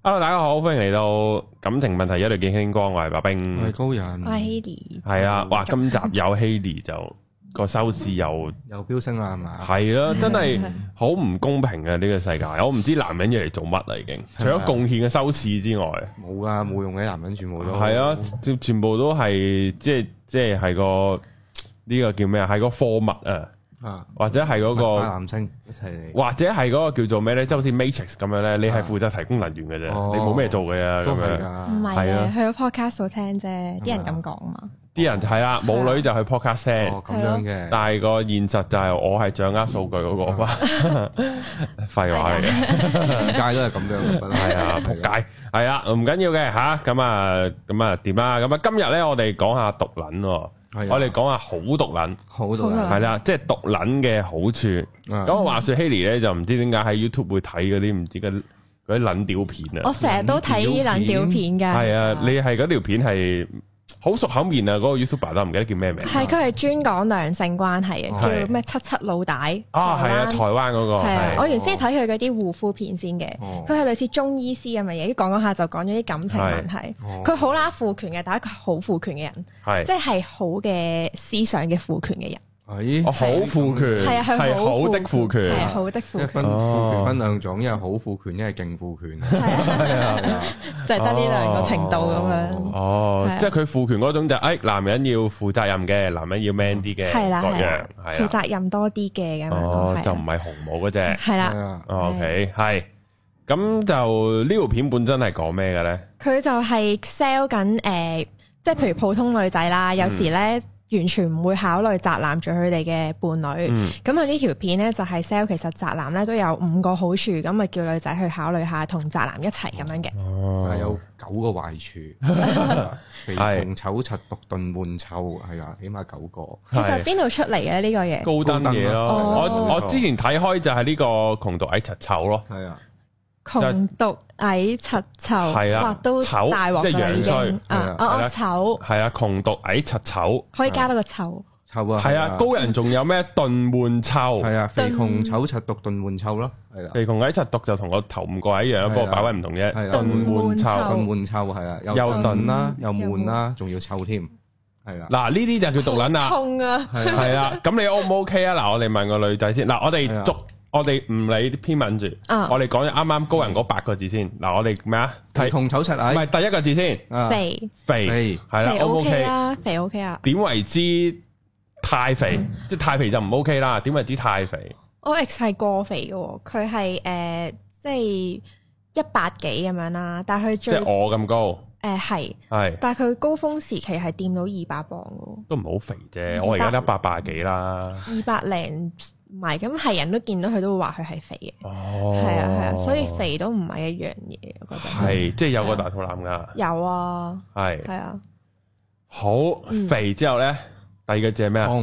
Hello， 大家好，歡迎嚟到感情問題一律見星光，我係白兵， 我係高人， 我係 Hailee， 係啊，哇，今集有 Hailee 就個收視又飆升啦，係嘛？ 係咯，真係好唔公平嘅呢個世界，我唔知男人要嚟做乜啦，已經除咗貢獻嘅收視之外， 冇噶，冇用嘅男人全部都係啊，全部都係即係個呢個叫咩啊？係個貨物啊！或者係嗰個男星一齊嚟， 或者係嗰個叫做咩咧？即係好似 Matrix 咁樣咧，你係負責提供能源嘅啫，你冇咩做嘅啊，咁樣。 唔係啊，去咗 podcast 度聽啫，啲人咁講嘛。啲人係啦，冇女就去 podcast 聽， 咁樣嘅。 但係個現實就係我係掌握數據嗰個嘛，廢話嚟嘅， 全界都係咁樣嘅， 係啊，仆街，係啊，唔緊要嘅吓，咁啊點啊？咁啊，今日咧我哋講下毒撚。我哋講下好毒撚， 好毒撚係啦，即係毒撚嘅好處。咁我話說 Hailee 咧就唔知點解喺 YouTube 會睇嗰啲唔知嗰啲撚屌片啊！ 我成日都睇啲撚屌片㗎。係啊，你係嗰條片係好熟口面啊！嗰個 YouTuber 都唔記得叫咩名。 係佢係專講兩性關係嘅，叫咩77老大。 啊，係啊，台灣嗰個。係啊， 我原先睇佢嗰啲護膚片先嘅，佢係類似中醫師咁嘅嘢，講下就講咗啲感情問題。佢好啦父權嘅，但係佢好父權嘅人，即係好嘅思想嘅父權嘅人。 好父權，係好的父權， 係好的父權。 父權分兩種，一係好父權，一係勁父權。 係啊，就係得呢兩個程度咁樣。 哦，即係佢父權嗰種就男人要負責任嘅，男人要 man 啲嘅，各樣係負責任多啲嘅咁樣。 哦，就唔係紅帽嗰隻。 係啦。 OK， 係。咁就呢條片本身係講咩嘅咧？ 佢就係 sell 緊即係譬如普通女仔啦，有時咧。完全唔會考慮宅男做佢哋嘅伴侶，咁佢呢條片咧就係 sell 其實宅男咧都有5個好處，咁咪叫女仔去考慮下同宅男一齊咁樣嘅。 哦，有9個壞處，肥窮醜柒獨鈍悶臭，係啊，起碼9個。 其實邊度出嚟嘅呢個嘢？ 高登嘢咯，我之前睇開就係呢個窮毒矮柒醜咯，係啊。 窮毒矮柒醜， 係啊， 都大鑊， 即係樣衰醜， 係啊，窮毒矮柒醜， 可以加多個臭， 臭啊， 係啊，高人仲有咩鈍悶臭， 係啊，肥窮醜柒獨鈍悶臭咯，係啦， 肥窮矮柒獨就同個頭5個一樣，不過擺位唔同啫， 鈍悶臭， 鈍悶臭係啊，又鈍啦，又悶啦，仲要臭添，係啦， 嗱呢啲就叫毒撚啦， 痛啊， 係啦，咁你 O 唔 OK 啊？嗱，我哋問個女仔先，嗱我哋唔理啲篇文住，我哋講咗啱啱高人嗰8個字先。嗱，我哋咩啊？ 肥窮醜柒矮， 唔係第一個字先。肥係啦 ，OK 啊，肥 OK 啊。 點為之太肥？即係太肥就唔 OK 啦。點為之太肥？ 我 X 係過肥嘅，佢係即係100幾咁樣啦，但係佢即係我咁高。 係，但係佢高峰時期係掂到200磅嘅，都唔好肥啫。我而家得180幾啦 ，200零。唔係，咁係人都見到佢都會話佢係肥嘅。哦，係啊，所以肥都唔係一樣嘢，我覺得。 係，即係有個大肚腩噶。 有啊。係啊。 好肥之後咧，第二個字係咩啊？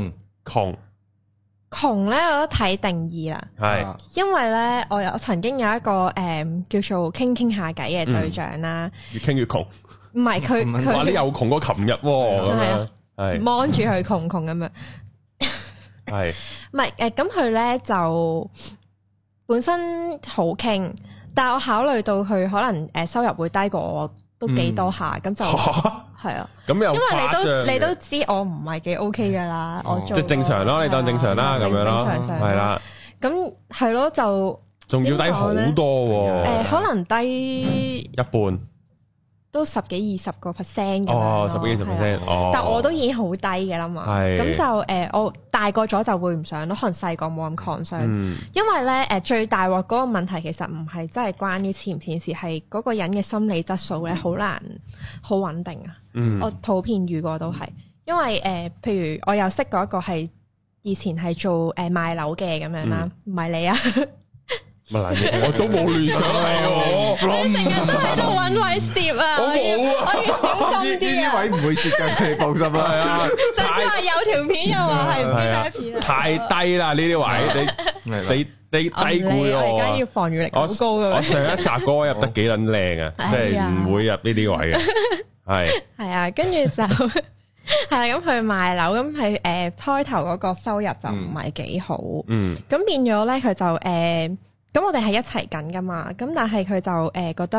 窮咧，我都睇定義啦。 係。因為咧，我曾經有一個叫做傾下偈嘅對象啦。 越傾越窮。 唔係佢話你又窮過琴日喎。 係。望住佢窮咁樣。 係， 唔係咁佢咧就本身好傾，但係我考慮到佢可能收入會低過我都幾多下，咁就係啊。咁又因為你都知我唔係幾 OK 噶啦，我做即係正常咯，你當正常啦咁樣咯，係啦。咁係咯，就仲要低好多喎。 可能低一半。 都10幾20個 percent 嘅哦，10幾20%， 但我都已經好低嘅啦嘛。咁就我大個咗就會唔想咯，可能細個冇咁抗傷。因為咧最大鑊嗰個問題其實唔係真係關於錢唔錢事，係嗰個人嘅心理質素咧好難好穩定啊。我普遍遇過都係，因為譬如我又識過一個係以前係做賣樓嘅咁樣啦，唔係你啊。 我都冇亂想係你成日都喺度揾位攝啊！我冇啊，我要小心啲啊！ 呢位唔會攝嘅，你放心啦。係啊， 上次話有條片又話係唔知咩片啊！ 太低啦呢啲位，你低估我。 我而家要防禦力好高嘅。 我上一集嗰個入得幾撚靚啊，即係唔會入呢啲位嘅。 係啊，跟住就係啦，咁佢賣樓，咁佢開頭嗰個收入就唔係幾好。咁變咗咧，佢就咁我哋係一齊緊噶嘛，咁但係佢就覺得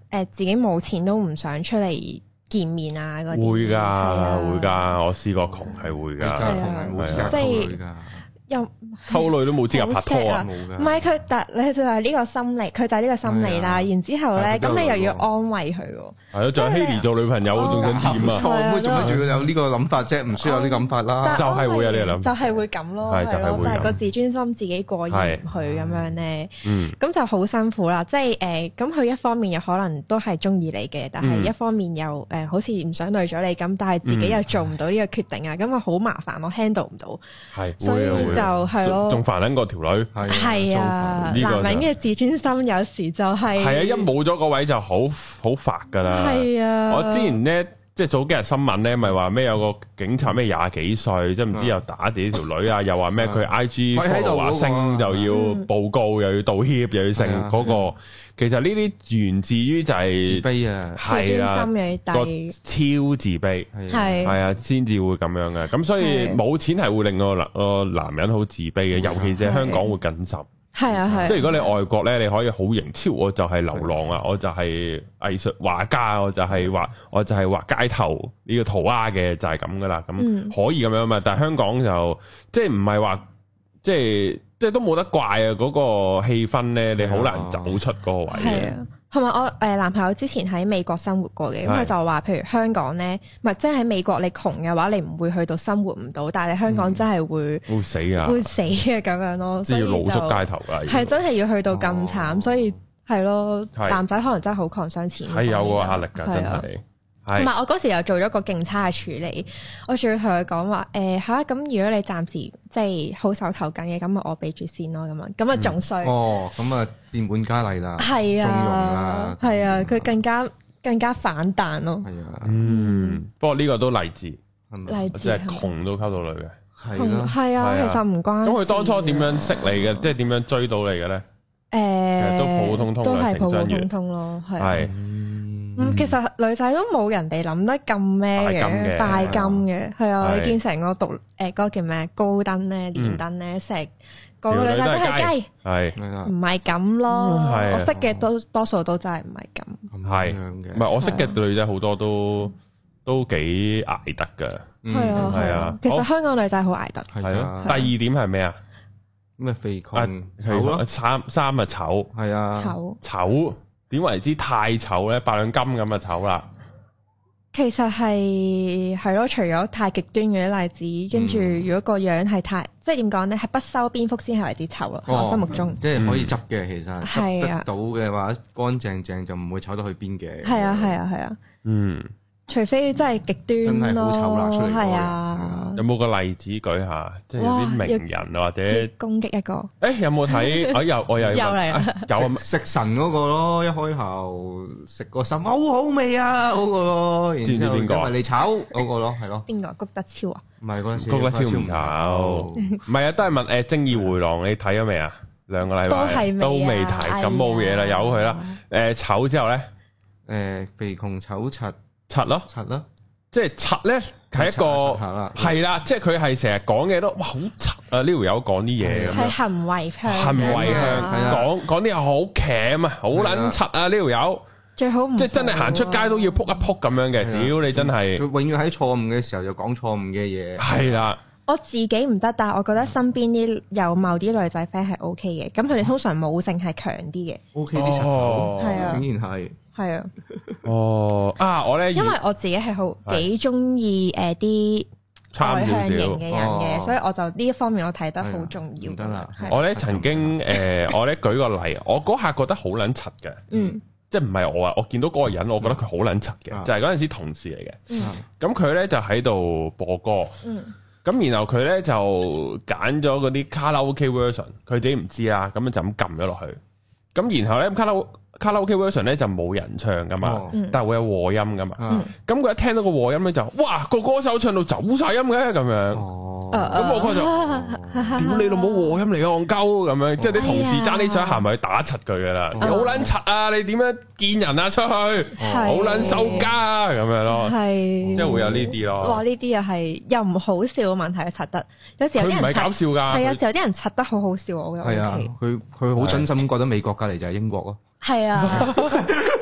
自己冇錢都唔想出嚟見面啊嗰啲。 會㗎，會㗎，我試過窮係會㗎， 窮係冇資格溝女㗎。 又溝女都冇資格拍拖啊！ 唔係佢，但你就係呢個心理，佢就係呢個心理啦。然之後咧，咁你又要安慰佢喎。係咯， 仲有 Haley 做女朋友，仲想點啊？ 錯，仲要有呢個諗法啫，唔需要有呢個諗法啦。 就係會有呢個諗法， 就係會咁咯，係咯，就係個自尊心自己過意唔去咁樣咧。咁就好辛苦啦。即係咁佢一方面又可能都係中意你嘅，但係一方面又好似唔想累咗你咁，但係自己又做唔到呢個決定啊，咁啊好麻煩，我 handle 唔到。係，所以就係咯。仲煩緊過條女，係啊，男人嘅自尊心有時就係啊，一冇咗個位就好煩噶啦。係啊，我之前咧即係早幾日新聞咧，咪話咩有個警察咩廿幾歲，即係唔知又打自己條女啊，又話咩佢 IG follow 升就要報告，又要道歉，又要成嗰個。其實呢啲源自於就係自卑啊， 係啊，個超自卑，係啊，先至會咁樣嘅。咁所以冇錢係會令個男人好自卑嘅，尤其是香港會更甚。 係啊係。 即係如果你外國咧，你可以好型超，我就係流浪啊，我就係藝術畫家，我就係畫街頭呢個塗鴉嘅，就係咁噶啦。咁可以咁樣嘛？但係香港就即係唔係話即係都冇得怪啊！嗰個氣氛咧，你好難走出嗰個位嘅。 同埋我男朋友之前喺美國生活過嘅，咁佢就話，譬如香港咧，唔係即係喺美國你窮嘅話，你唔會去到生活唔到，但係你香港真係會死啊， 會死嘅咁樣咯。 即係要露宿街頭㗎， 係真係要去到咁慘，所以係咯，男仔可能真係好抗傷錢， 係有個壓力㗎，真係。 同埋我嗰時又做咗個勁差嘅處理，我仲要同佢講話嚇，咁如果你暫時即係好手頭緊嘅，咁我俾住先咯，咁啊仲衰。 咁啊變本加厲啦， 係啊， 縱容啦， 係啊，佢更加反彈咯。 係啊， 不過呢個都勵志， 勵志即係窮都溝到女嘅， 係啊，其實唔關。咁佢當初點樣識你嘅？即係點樣追到你嘅咧？其實都普普通通， 都係普普通通咯，係。其實女仔都冇人哋諗得咁咩嘅，拜金嘅，係啊！你見成個讀嗰個叫咩高登咧、連登咧，成個女仔都係雞，係唔係咁咯？我識嘅多數都真係唔係咁， 係唔係我識嘅女仔好多都幾捱得噶，係啊！ 其實香港女仔好捱得， 係咯。第二點係咩啊？ 咩肥窮醜咯？ 三啊醜， 係啊醜。點為之太醜咧？8兩金咁啊醜啦！ 其實係咯，除咗太極端嘅啲例子，跟住如果個樣係太，即係點講咧，係不修邊幅先係為之醜咯。我心目中即係可以執嘅，其實執得到嘅話，乾淨淨就唔會醜到去邊嘅。 係啊，除非真係極端咯，真係好醜啦出嚟。係啊， 有冇個例子舉下？即係有啲名人或者攻擊一個。 有冇睇？我又嚟啦， 有食神嗰個咯，一開頭食個心好好味啊嗰個咯，然之後因為你炒嗰個咯，係咯。邊個？谷德超啊？ 唔係谷德超唔炒，唔係啊，都係問《正義回廊》，你睇咗未啊？2個禮拜都未睇，咁冇嘢啦，由佢啦。醜之後咧， 肥窮醜柒。 柒咯，即係柒咧，係一個係啦，即係佢係成日講嘅都哇好柒啊！呢條友講啲嘢咁樣， 係行為向， 講啲嘢好鉗啊，好撚柒啊！呢條友最好唔即係真係行出街都要撲一撲咁樣嘅，屌你真係， 佢永遠喺錯誤嘅時候就講錯誤嘅嘢， 係啦。 我自己唔得，但係我覺得身邊啲有某啲女仔 friend 係 OK 嘅，咁佢哋通常母性係強啲嘅 ，OK 啲柒頭， 係啊， 竟然係。 係啊， 我咧， 因為我自己係好幾中意啲外向型嘅人嘅，所以我就呢一方面我睇得好重要。 得啦， 我咧曾經我咧舉個例，我嗰下覺得好撚柒嘅，即係唔係我啊，我見到嗰個人，我覺得佢好撚柒嘅，就係嗰陣時同事嚟嘅，咁佢咧就喺度播歌，咁然後佢咧就揀咗嗰啲卡拉 OK version，佢自己唔知啦，咁就咁撳咗落去，咁然後咧卡拉 OK version 咧就冇人唱噶嘛，但係會有和音噶嘛。咁佢一聽到個和音咧就，哇個歌手唱到走晒音嘅咁樣。咁我就屌你老母和音嚟嘅戇鳩咁樣，即係啲同事爭啲想行埋去打柒佢噶啦，好撚柒啊！你點樣見人啊出去，好撚收家啊咁樣咯，即係會有呢啲咯。 哇！呢啲又係又唔好笑嘅問題，柒得有時有啲人唔係搞笑噶， 係有時有啲人柒得好好笑，我覺得。 係啊，佢好真心覺得美國隔籬就係英國咯。 係啊，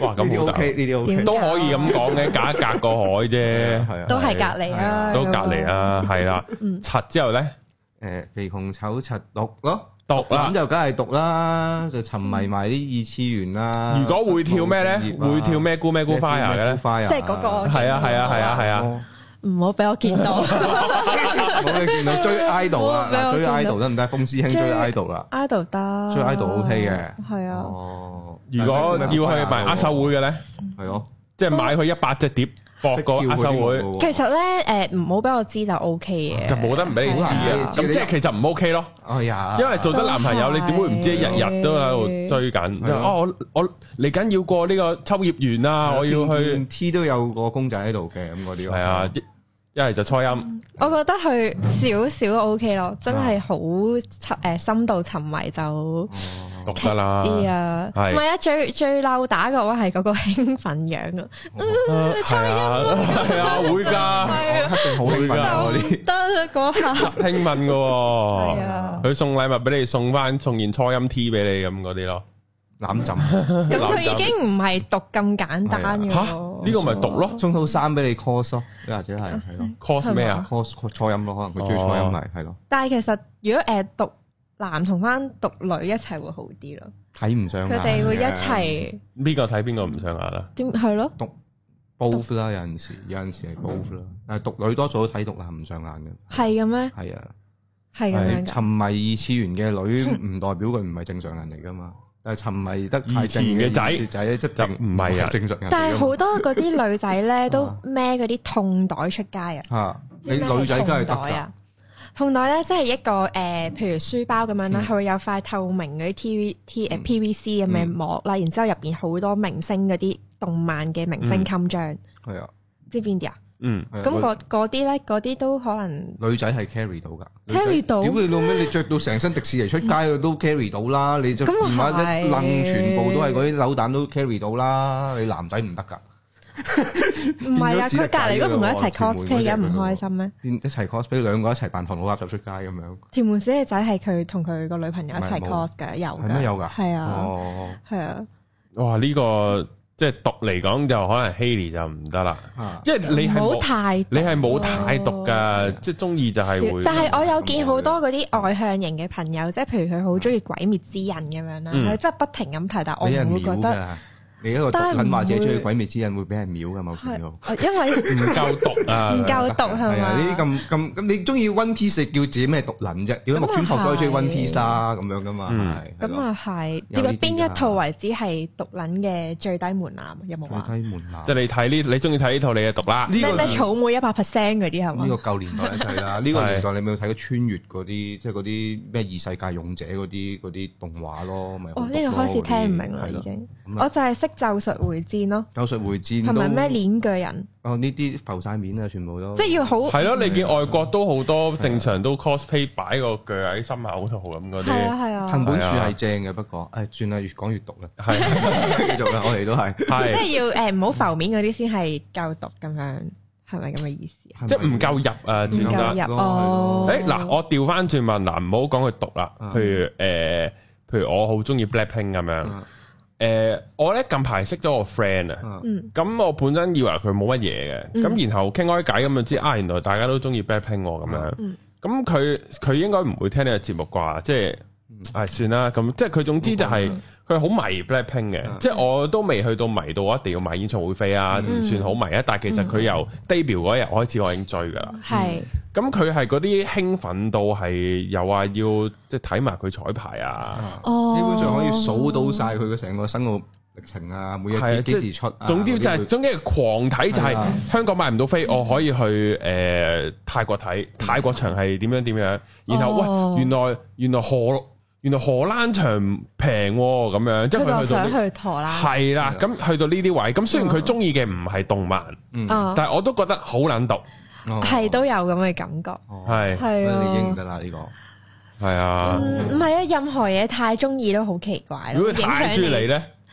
哇，咁好大， 呢啲 OK 都可以咁講嘅，隔一隔個海啫， 係啊， 都係隔離啊， 都隔離啊，係啦。柒之後咧， 肥窮醜柒毒咯。 毒啦， 咁就梗係毒啦，就沉迷埋啲二次元啦。 如果會跳咩咧？會跳咩咕咩咕 fire 嘅咧？ 即係嗰個。 係啊！ 唔好俾我見到。 唔好俾你見到追 idol 啦，追 idol 得唔得？風師兄追 idol 啦。 idol 得。 追 idol OK 嘅。係啊。 哦。 如果要去買握手會嘅咧？ 係咯。 即係買佢100隻碟。博個握手會， 其實咧唔好俾我知就 O K 嘅， 就冇得唔俾你知啊！咁即係其實唔 O K 咯。 哎呀， 因為做得男朋友，你點會唔知？日日都喺度追緊。我嚟緊要過呢個秋葉原啊！我要去 T 都有個公仔喺度嘅咁嗰啲。係啊，一係就初音。 我覺得佢少少 O K 咯，真係好深度沉迷就。 覺得啦， 啲啊，唔係啊，最嬲打嘅話係嗰個興奮樣啊，係啊，會㗎， 一定好興奮嗰啲， 得啦嗰下興奮嘅喎，佢送禮物俾你，送件初音 T 俾你咁嗰啲咯，攬枕， 咁佢已經唔係毒咁簡單嘅喎， 呢個咪毒咯， 送套衫俾你 cos 咯，或者係咯 cos 咩啊 ？cos 初音咯，可能佢追初音嚟，係咯。 但係其實如果毒男同翻毒女一齊會好啲咯， 睇唔上眼， 佢哋會一齊。 邊個睇邊個唔上眼啦？ 點係咯？ 毒 both 啦，有陣時係 both 啦，但係毒女多數都睇毒男唔上眼嘅。係嘅咩？ 係啊， 係咁樣。 沉迷二次元嘅女唔代表佢唔係正常人嚟噶嘛，但係沉迷得太正嘅仔即係唔係啊正常人。 但係好多嗰啲女仔咧都孭嗰啲痛袋出街啊！ 嚇，你女仔梗係得㗎。 痛袋咧，即係一個譬如書包咁樣啦，佢會有塊透明嗰啲 PVC 咁嘅膜啦，然之後入邊好多明星嗰啲動漫嘅明星襟章。係啊，知邊啲啊？咁嗰啲咧，嗰啲都可能女仔係 carry 到㗎 ，carry 到。 屌你老味，你着到成身迪士尼出街都 carry 到啦！你著電話一掕，全部都係嗰啲扭蛋都 carry 到啦！你男仔唔得㗎。 唔係啊，佢隔籬都同佢一齊 cosplay 嘅，唔開心咩？ 一齊 cosplay，兩個一齊扮唐老鴨就出街咁樣。 屯門小姐仔係佢同佢個女朋友一齊 cos 嘅，有嘅。 係咩有㗎？ 係啊，係啊。 哇！呢個即係毒嚟講就可能 Hailee 就唔得啦，因為你係冇太毒㗎，即係中意就係會。 但係我有見好多嗰啲外向型嘅朋友，即係譬如佢好中意鬼滅之刃咁樣啦，佢真係不停咁提，但我唔會覺得。 你一個毒撚話自己中意鬼滅之刃會俾人秒㗎嘛？ 因為唔夠毒啊！ 唔夠毒係嘛？ 呢啲咁你中意 One Piece 叫自己咩毒撚啫？點解木村拓哉中意 One Piece 啦？咁樣㗎嘛？ 咁啊係。點解邊一套為之係毒撚嘅最低門檻？有冇話？ 最低門檻。 即係你睇你中意睇呢套你嘅毒啦。 咩草莓100% 嗰啲係嘛？ 呢個舊年代睇啦。呢個年代你咪有睇過穿越嗰啲，即係嗰啲咩異世界勇者嗰啲動畫咯？咪哦，呢個開始聽唔明啦已經。我就係識咒術迴戰咯， 咒術迴戰同埋咩鏈鋸人哦，呢啲浮晒面啊，全部都即係要好係咯。你見外國都好多正常都 cosplay 擺個鋸喺心口度咁嗰啲， 係啊。 藤本樹係正嘅，不過誒算啦，越講越毒啦。係繼續啦，我哋都係即係要唔好浮面嗰啲先係夠毒咁樣，係咪咁嘅意思？ 即係唔夠入啊， 唔夠入哦。 嗱，我調翻轉問嗱，唔好講佢毒啦。譬如我好中意 Blackpink 咁樣。我咧近排識咗個 friend 啊，咁我本身以為佢冇乜嘢嘅，咁然後傾開偈咁就知原來大家都中意 Blackpink 咁樣，咁佢應該唔會聽呢個節目啩，即係算啦，咁即係佢總之就係佢好迷 Blackpink 嘅，即係我都未去到迷到我一定要買演唱會飛啊，唔算好迷啊，但係其實佢由 debut 嗰日開始我已經追㗎啦，咁佢係嗰啲興奮到係又話要即係睇埋佢彩排啊， 基本上可以數到晒佢嘅成個生活歷程啊，每日幾時出啊， 總之就係總之狂睇就係香港買唔到飛，我可以去泰國睇，泰國場係點樣，然後喂原來荷蘭場平咁樣，即係佢想去荷蘭係啦，咁去到呢啲位，咁雖然佢中意嘅唔係動漫，但係我都覺得好撚毒。 係都有咁嘅感覺，係啊，你認得啦呢個， 係啊， 唔係啊，任何嘢太中意都好奇怪。 如果太中意你咧，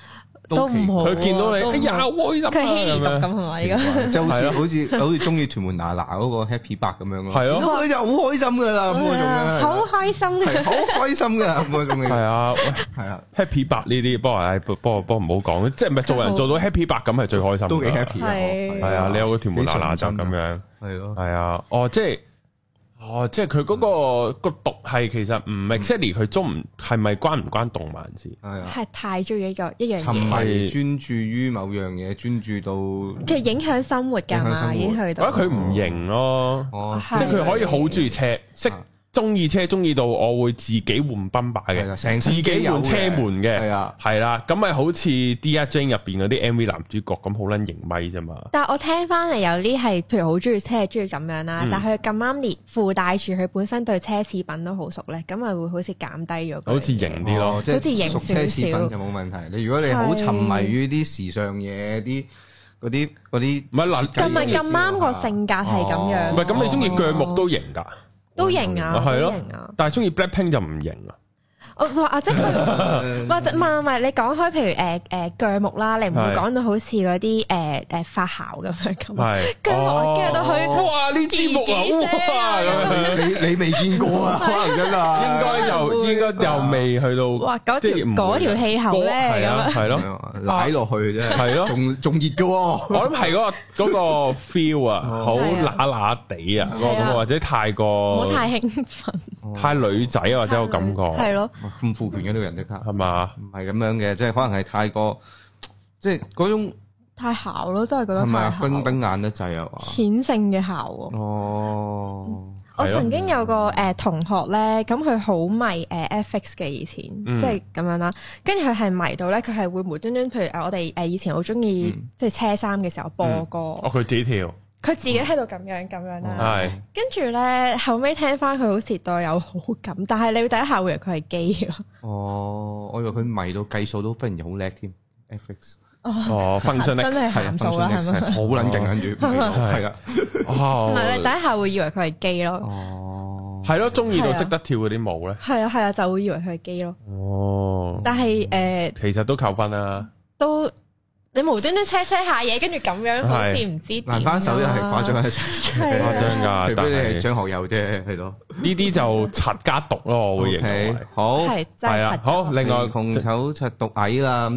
都唔好。 佢見到你，哎呀，開心啊！ 佢稀毒咁係咪？而家就好似中意屯門嗱嗱嗰個 Happy 伯咁樣咯。係咯，佢就好開心噶啦，咁嗰種嘅。好開心嘅，好開心噶咁嗰種嘅。係啊，係啊 ，Happy 伯呢啲，不過唔好講，即係唔係做人做到 Happy 伯咁係最開心。都幾 happy 啊！係啊，你有個屯門嗱嗱就咁樣。係咯。係啊，即係佢嗰個毒係其實唔 exactly 佢中唔係咪關唔關動漫事？ 係太中意一樣嘢， 沉迷專注於某樣嘢，專注到其實影響生活㗎嘛，已經去到。 我覺得佢唔型咯，即係佢可以好中意車，識中意車，中意到我會自己換賓霸嘅，自己換車門嘅，係啦，咁咪好似 Dear Jane 入邊嗰啲 MV 男主角咁好撚型咪啫嘛。 但係我聽翻嚟有啲係，譬如好中意車，中意咁樣啦，但係佢咁啱連附帶住佢本身對奢侈品都好熟咧，咁咪會好似減低咗。 好似型啲咯， 即係好似型少少。奢侈品就冇問題。你如果你好沉迷於啲時尚嘢，啲嗰啲，唔係嗱， 咁啱個性格係咁樣。 唔係咁，你中意腳木都型㗎。 都型啊， 係咯，但係中意 Blackpink 就唔型啊。 我話即係或者唔係你講開，譬如鋸木啦，你唔會講到好似嗰啲發姣咁樣咁。係鋸木我鋸到佢， 哇！呢支木啊，哇！咁樣你未見過啊？可能真係應該又未去到。 哇！嗰條氣候咧， 係啊，係咯， 拉落去啫，係咯，仲熱嘅喎。 我諗係嗰個 feel 啊，好乸乸地啊，或者太過唔好太興奮， 太女仔或者個感覺係咯。 咁父權嘅呢個人即刻係嘛？ 唔係咁樣嘅，即係可能係太過，即係嗰種太姣咯，真係覺得太姣。係咪啊？ 冰冰眼得滯啊嘛？ 顯性嘅姣喎。哦。我曾經有個同學咧，咁佢好迷FX 嘅以前，即係咁樣啦。跟住佢係迷到咧，佢係會無端端，譬如我哋以前好中意即係車衫嘅時候播歌。 哦，佢自己跳。 佢自己喺度咁樣啦，跟住咧後尾聽翻佢好似對有好感，但係你會第一下會以為佢係基咯。 哦，我以為佢迷到計數都忽然好叻添 ，FX。 哦，分數力真係函數啦，係咪？ 好撚勁跟住，係啦。 唔係你第一下會以為佢係基咯。 哦， 係咯，中意到識得跳嗰啲舞咧。 係啊，就會以為佢係基咯。 哦， 但係其實都扣分啦。 都。你無端端車下嘢，跟住咁樣好似唔知難翻手又係誇張一齊， 誇張㗎。 除非你係張學友啫，係咯。 呢啲就柒加毒咯，我會認為。 好係啊，好。另外紅醜柒毒矮啦，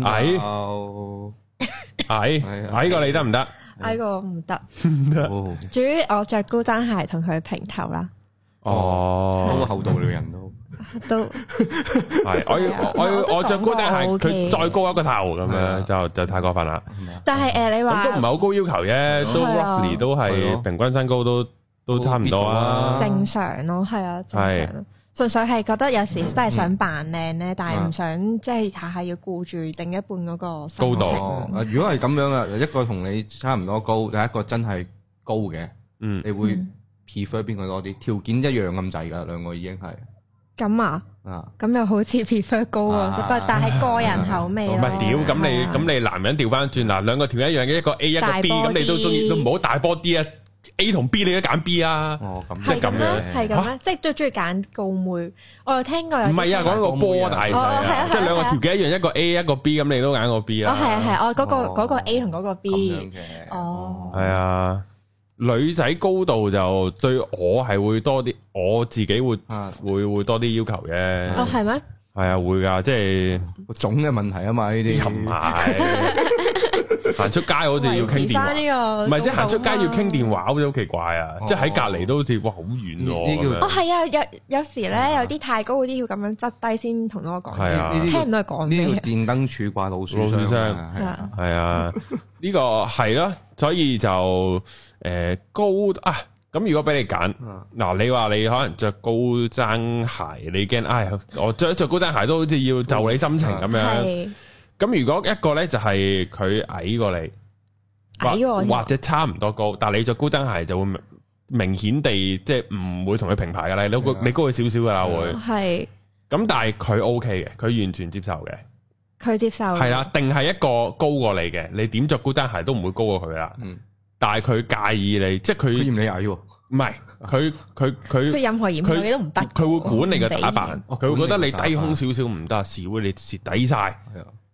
矮過你得唔得？ 矮過唔得。至於我着高踭鞋同佢平頭啦。 哦，嗰個厚道嘅人都。 係我着高踭鞋，佢再高一個頭咁樣就太過分啦。 但係你話咁都唔係好高要求啫，都 roughly 都係平均身高都差唔多啊。 正常咯，係啊，正常。純粹係覺得有時真係想扮靚咧，但係唔想即係下下要顧住另一半嗰個高度。 如果係咁樣啊，一個同你差唔多高，第一個真係高嘅，你會 prefer 邊個多啲？條件一樣咁滯噶，兩個已經係。咁啊，咁又好似 prefer 高喎，但係個人口味咯。 唔係屌，咁你男人調翻轉嗱，兩個條一樣嘅，一個 A 一個 B，咁你都中意都唔好大波啲啊 ！A 同 B 你都揀 B 啊？哦，咁即係咁樣， 係咁咩？即係都中意揀高妹。我有聽過有。 唔係啊，講個波大細啊，即係兩個條件一樣，一個 A 一個 B，咁你都揀個 B 啊？ 哦，係啊，嗰個 A 同嗰個 B。 哦，係啊。女仔高度就對我係會多啲，我自己會多啲要求嘅。 哦，係咩？ 係啊，會噶，即係個種嘅問題啊嘛，呢啲。唔係行出街好似要傾電話，唔係即係行出街要傾電話，好似好奇怪啊！即係喺隔離都好似哇好遠喎。 哦，係啊，有時咧有啲太高嗰啲要咁樣側低先同我講嘢，聽唔到佢講咩。 呢個電燈柱掛老鼠箱， 係啊，呢個係咯，所以就高啊。咁如果俾你揀，嗱，你話你可能着高踭鞋，你驚我着高踭鞋都好似要就你心情咁樣。咁如果一個咧就係佢矮過你，或者差唔多高，但係你着高踭鞋就會明顯地即係唔會同佢平排噶啦，你高佢少少噶啦會。係。咁但係佢 OK 嘅，佢完全接受嘅。 佢接受。係啦， 定係一個高過你嘅，你點着高踭鞋都唔會高過佢啦。但係佢介意你，即係佢嫌你矮喎。 唔係，佢任何嫌佢都唔得。 佢會管你嘅打扮，佢會覺得你低胸少少唔得，少會你蝕底晒。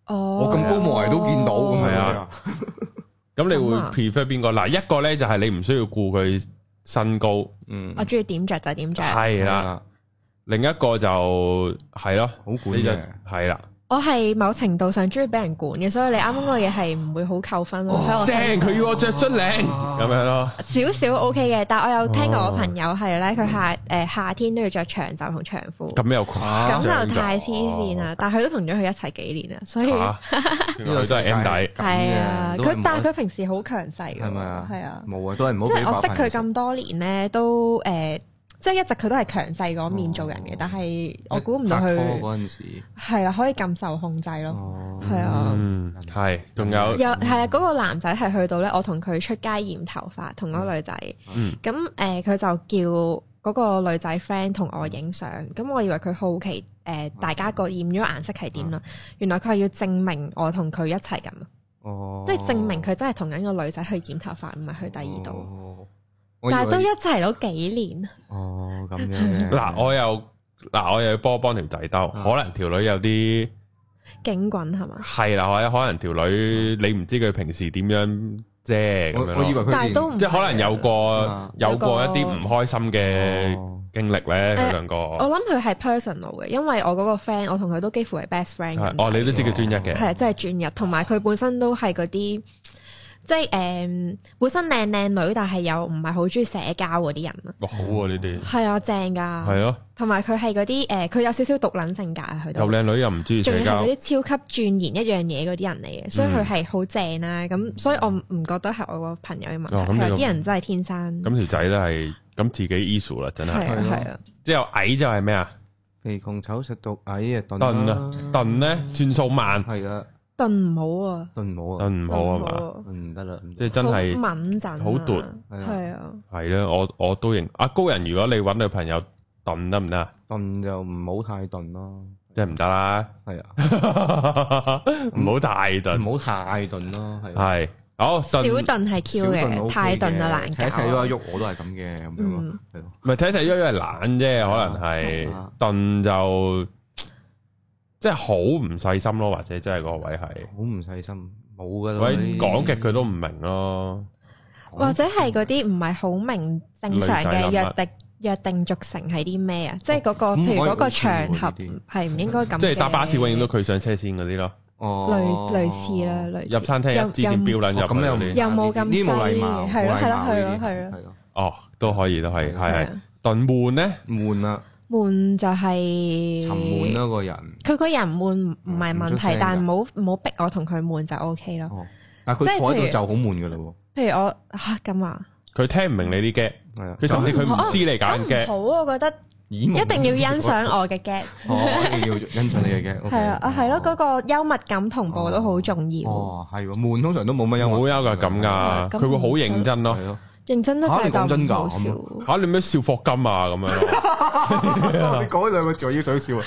我咁高冇人都見到咁樣啊。 咁你會 prefer 邊個？嗱，一個咧就係你唔需要顧佢身高， 我中意點着就點着， 係啦。另一個就係咯， 好管嘅， 係啦。 我係某程度上中意俾人管嘅，所以你啱啱嗰個嘢係唔會好扣分咯。 正，佢要我着樽領咁樣咯， 少少 OK 嘅。但係我有聽過我朋友係咧，佢夏天都要着長袖同長褲， 咁又誇張， 咁就太黐線啦。但係佢都同咗佢一齊幾年啦，所以呢個都係 M 底。 係啊，但係佢平時好強勢㗎， 係咪啊？ 係啊， 冇啊，都係唔好。 即係我識佢咁多年咧，都即係一直佢都係強勢嗰面做人嘅，但係我估唔到佢嗰陣時係啦，可以咁受控制咯，係啊， 係，仲有係啊，嗰個男仔係去到咧，我同佢出街染頭髮，同嗰個女仔，咁佢就叫嗰個女仔 friend 同我影相，咁我以為佢好奇大家個染咗顏色係點啦，原來佢係要證明我同佢一齊咁，即係證明佢真係同緊個女仔去染頭髮，唔係去第二度。但係都一齊咗幾年。 咁樣嘅。嗱， 我又要幫條仔兜，可能條女有啲警棍係嘛？ 係啦，或者可能條女你唔知佢平時點樣啫咁樣。 我以為佢但係都即係可能有過一啲唔開心嘅經歷咧，佢兩個。 我諗佢係 personal 嘅，因為我嗰個 friend，我同佢都幾乎係 best friend。 你都知佢專一嘅。 係，真係專一，同埋佢本身都係嗰啲。即係本身靚女，但係又唔係好中意社交嗰啲人啊！ 好啊，呢啲係啊，正㗎。係咯，同埋佢係嗰啲佢有少少獨撚性格啊，佢都又靚女又唔中意社交， 仲係嗰啲超級鑽研一樣嘢嗰啲人嚟嘅，所以佢係好正啦。咁所以我唔覺得係我個朋友嘅問題，係啲人真係天生。 咁條仔咧係咁自己 issue 啦，真係係啊。 之後矮就係咩啊？ 肥窮醜食到矮啊！ 燉咧轉數慢係啊。 燉唔好啊！ 燉唔好啊！ 燉唔好啊嘛， 唔得啦， 即係真係敏陣， 好奪， 係啊， 係啦，我都認。阿高人，如果你揾女朋友燉得唔得啊？ 燉就唔好太燉咯， 即係唔得啦。係啊， 唔好太燉， 唔好太燉咯， 係。好， 小燉係 Q 嘅，太燉就難搞。 睇睇喐一喐，我都係咁嘅，咁樣咯，係咯。 唔係睇睇喐喐係懶啫，可能係燉就。即係好唔細心咯，或者真係個位係好唔細心，冇噶啦。 喂，講極佢都唔明咯， 或者係嗰啲唔係好明正常嘅約定俗成係啲咩啊？即係嗰個，譬如嗰個場合係唔應該咁。 即係搭巴士永遠都佢上車先嗰啲咯。 類似啦，類似。 入餐廳一支箭標撚入咁樣， 又冇咁啲冇禮貌， 係咯。 哦，都可以，係燉悶咧， 悶啊！ 悶就係沉悶咯，個人。 佢個人悶唔係問題，但係唔好逼我同佢悶就 OK 咯。 但係佢坐喺度就好悶噶啦喎。譬如我咁啊， 佢聽唔明你啲 get，佢甚至佢唔知你揀 get。 好，我覺得一定要欣賞我嘅 get。 一定要欣賞你嘅 get。 係啊，係咯，嗰個幽默感同步都好重要。 係喎，悶通常都冇乜幽默。 冇幽默感㗎，佢會好認真咯。 認真得滯就唔好笑嚇！你咩笑霍金啊咁樣咯？ 你講呢兩個字我已經想笑啊！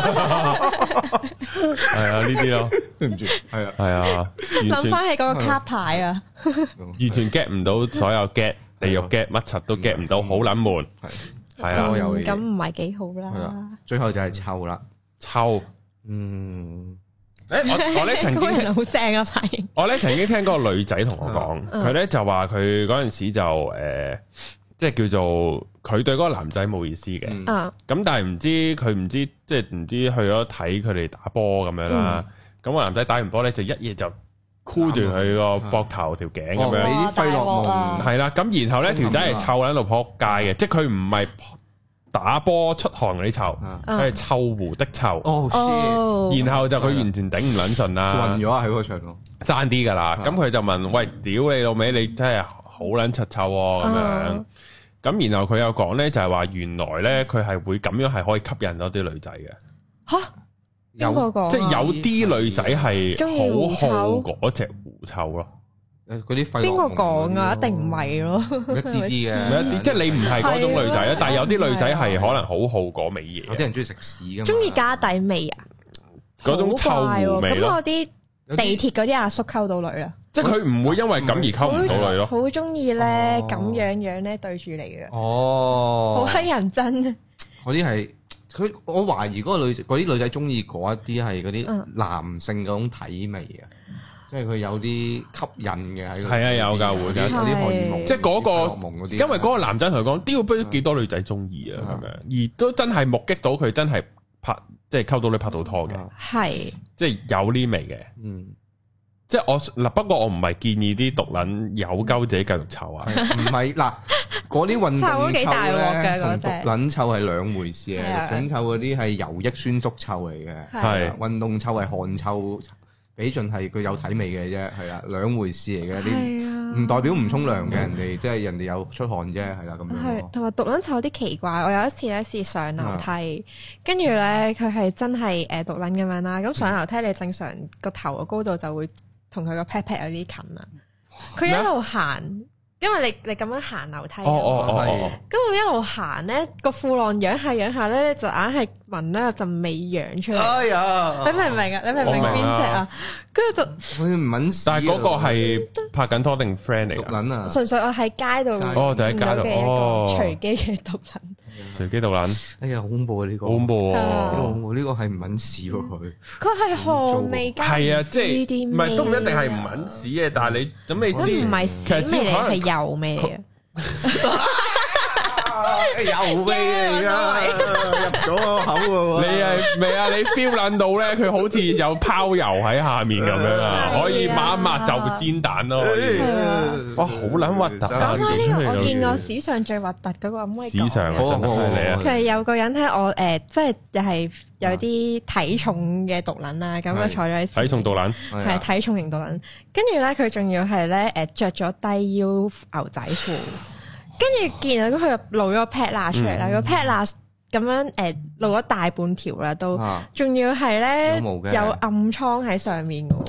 係啊，呢啲咯， 對唔住，係啊， 係啊， 諗翻起嗰個卡牌啊， 完全 get 唔到所有 get，地獄 get 乜柒都 get 唔到，好撚悶，係啊， 咁唔係幾好啦。 最後就係臭啦， 臭，我咧曾經好正啊！反應我咧曾經聽嗰個女仔同我講，佢咧就話佢嗰陣時就即係叫做佢對嗰個男仔冇意思嘅，咁但係唔知即係唔知去咗睇佢哋打波咁樣啦。咁個男仔打完波咧就一嘢就箍住佢個膊頭條頸咁樣， 你啲費洛蒙係啦。咁然後咧條仔係臭喺度撲街嘅，即係佢唔係打波出汗嗰啲臭，佢係臭狐的臭。然後就佢完全頂唔撚順啦， 暈咗喺個場度， 爭啲噶啦。咁佢就問：喂，屌你老味，你真係好撚柒臭咁樣。咁然後佢又講咧，就係話原來咧佢係會咁樣係可以吸引到啲女仔嘅。 吓，邊個講？ 即係有啲女仔係好好嗰隻狐臭咯。 嗰啲費洛蒙邊個講啊？一定唔係咯， 一啲啲嘅， 一啲即係你唔係嗰種女仔啊，但係有啲女仔係可能好好嗰味嘢。 有啲人中意食屎噶嘛， 中意加底味啊， 嗰種臭狐味咯。 咁我啲地鐵嗰啲阿叔溝到女啦， 即係佢唔會因為咁而溝唔到女咯。 好中意咧咁樣咧對住你嘅， 哦， 好乞人憎啊！ 嗰啲係我懷疑嗰啲女仔中意嗰一啲係嗰啲男性嗰種體味啊，即係佢有啲吸引嘅喺。係啊， 有㗎會㗎， 有啲荷爾蒙， 即係嗰個，因為嗰個男仔同佢講，屌不知幾多女仔中意啊咁樣，而都真係目擊到佢真係即係溝到你拍到拖嘅， 係即係有呢味嘅，即係我嗱，不過我唔係建議啲毒撚有鳩自己繼續臭啊， 唔係嗱，嗰啲運動臭咧同毒撚臭係兩回事嘅，毒撚臭嗰啲係油益酸足臭嚟嘅，係運動臭係汗臭，比盡係佢有體味嘅啫，係啦，兩回事嚟嘅，啲唔代表唔沖涼嘅，人哋即係人哋有出汗啫，係啦咁樣。係同埋毒撚臭有啲奇怪，我有一次咧試上樓梯，跟住咧佢係真係毒撚咁樣啦，咁上樓梯你正常個頭嘅高度就會同佢個 pat pat 有啲近啦，佢一路行，因為你咁樣行樓梯，咁我一路行咧個褲浪仰下咧，就硬係聞到有陣味揚出嚟。哎呀，你明唔明啊？你明唔明邊隻啊？跟住就佢唔揾屎。 但係嗰個係拍緊拖定 friend 嚟？ 毒撚啊！ 純粹我喺街度就喺街度隨機嘅毒撚。 隨機毒撚， 哎呀，好恐怖啊！呢個恐怖啊！ 呢個係唔揾屎喎佢。 佢係汗味加係啊，即係唔係都唔一定係唔揾屎嘅，但係你咁你知唔係屎味嚟，係油味嚟嘅。 油味嚟㗎，入咗個口喎。 你係未啊？你 feel 撚到咧，佢好似有拋油喺下面咁樣啊，可以抹一抹就煎蛋咯。哇，好撚核突！ 講開呢個，我見過史上最核突嗰個，可唔可以講？ 史上真係你啊！ 其實有個人喺我即係又係有啲體重嘅毒撚啦，咁啊坐咗喺體重毒撚， 係體重型毒撚。跟住咧，佢仲要係咧着咗低腰牛仔褲。跟住見到佢露咗個 pat 罅出嚟啦，個 pat 罅咁樣露咗大半條啦，都仲要係咧有暗瘡喺上面嘅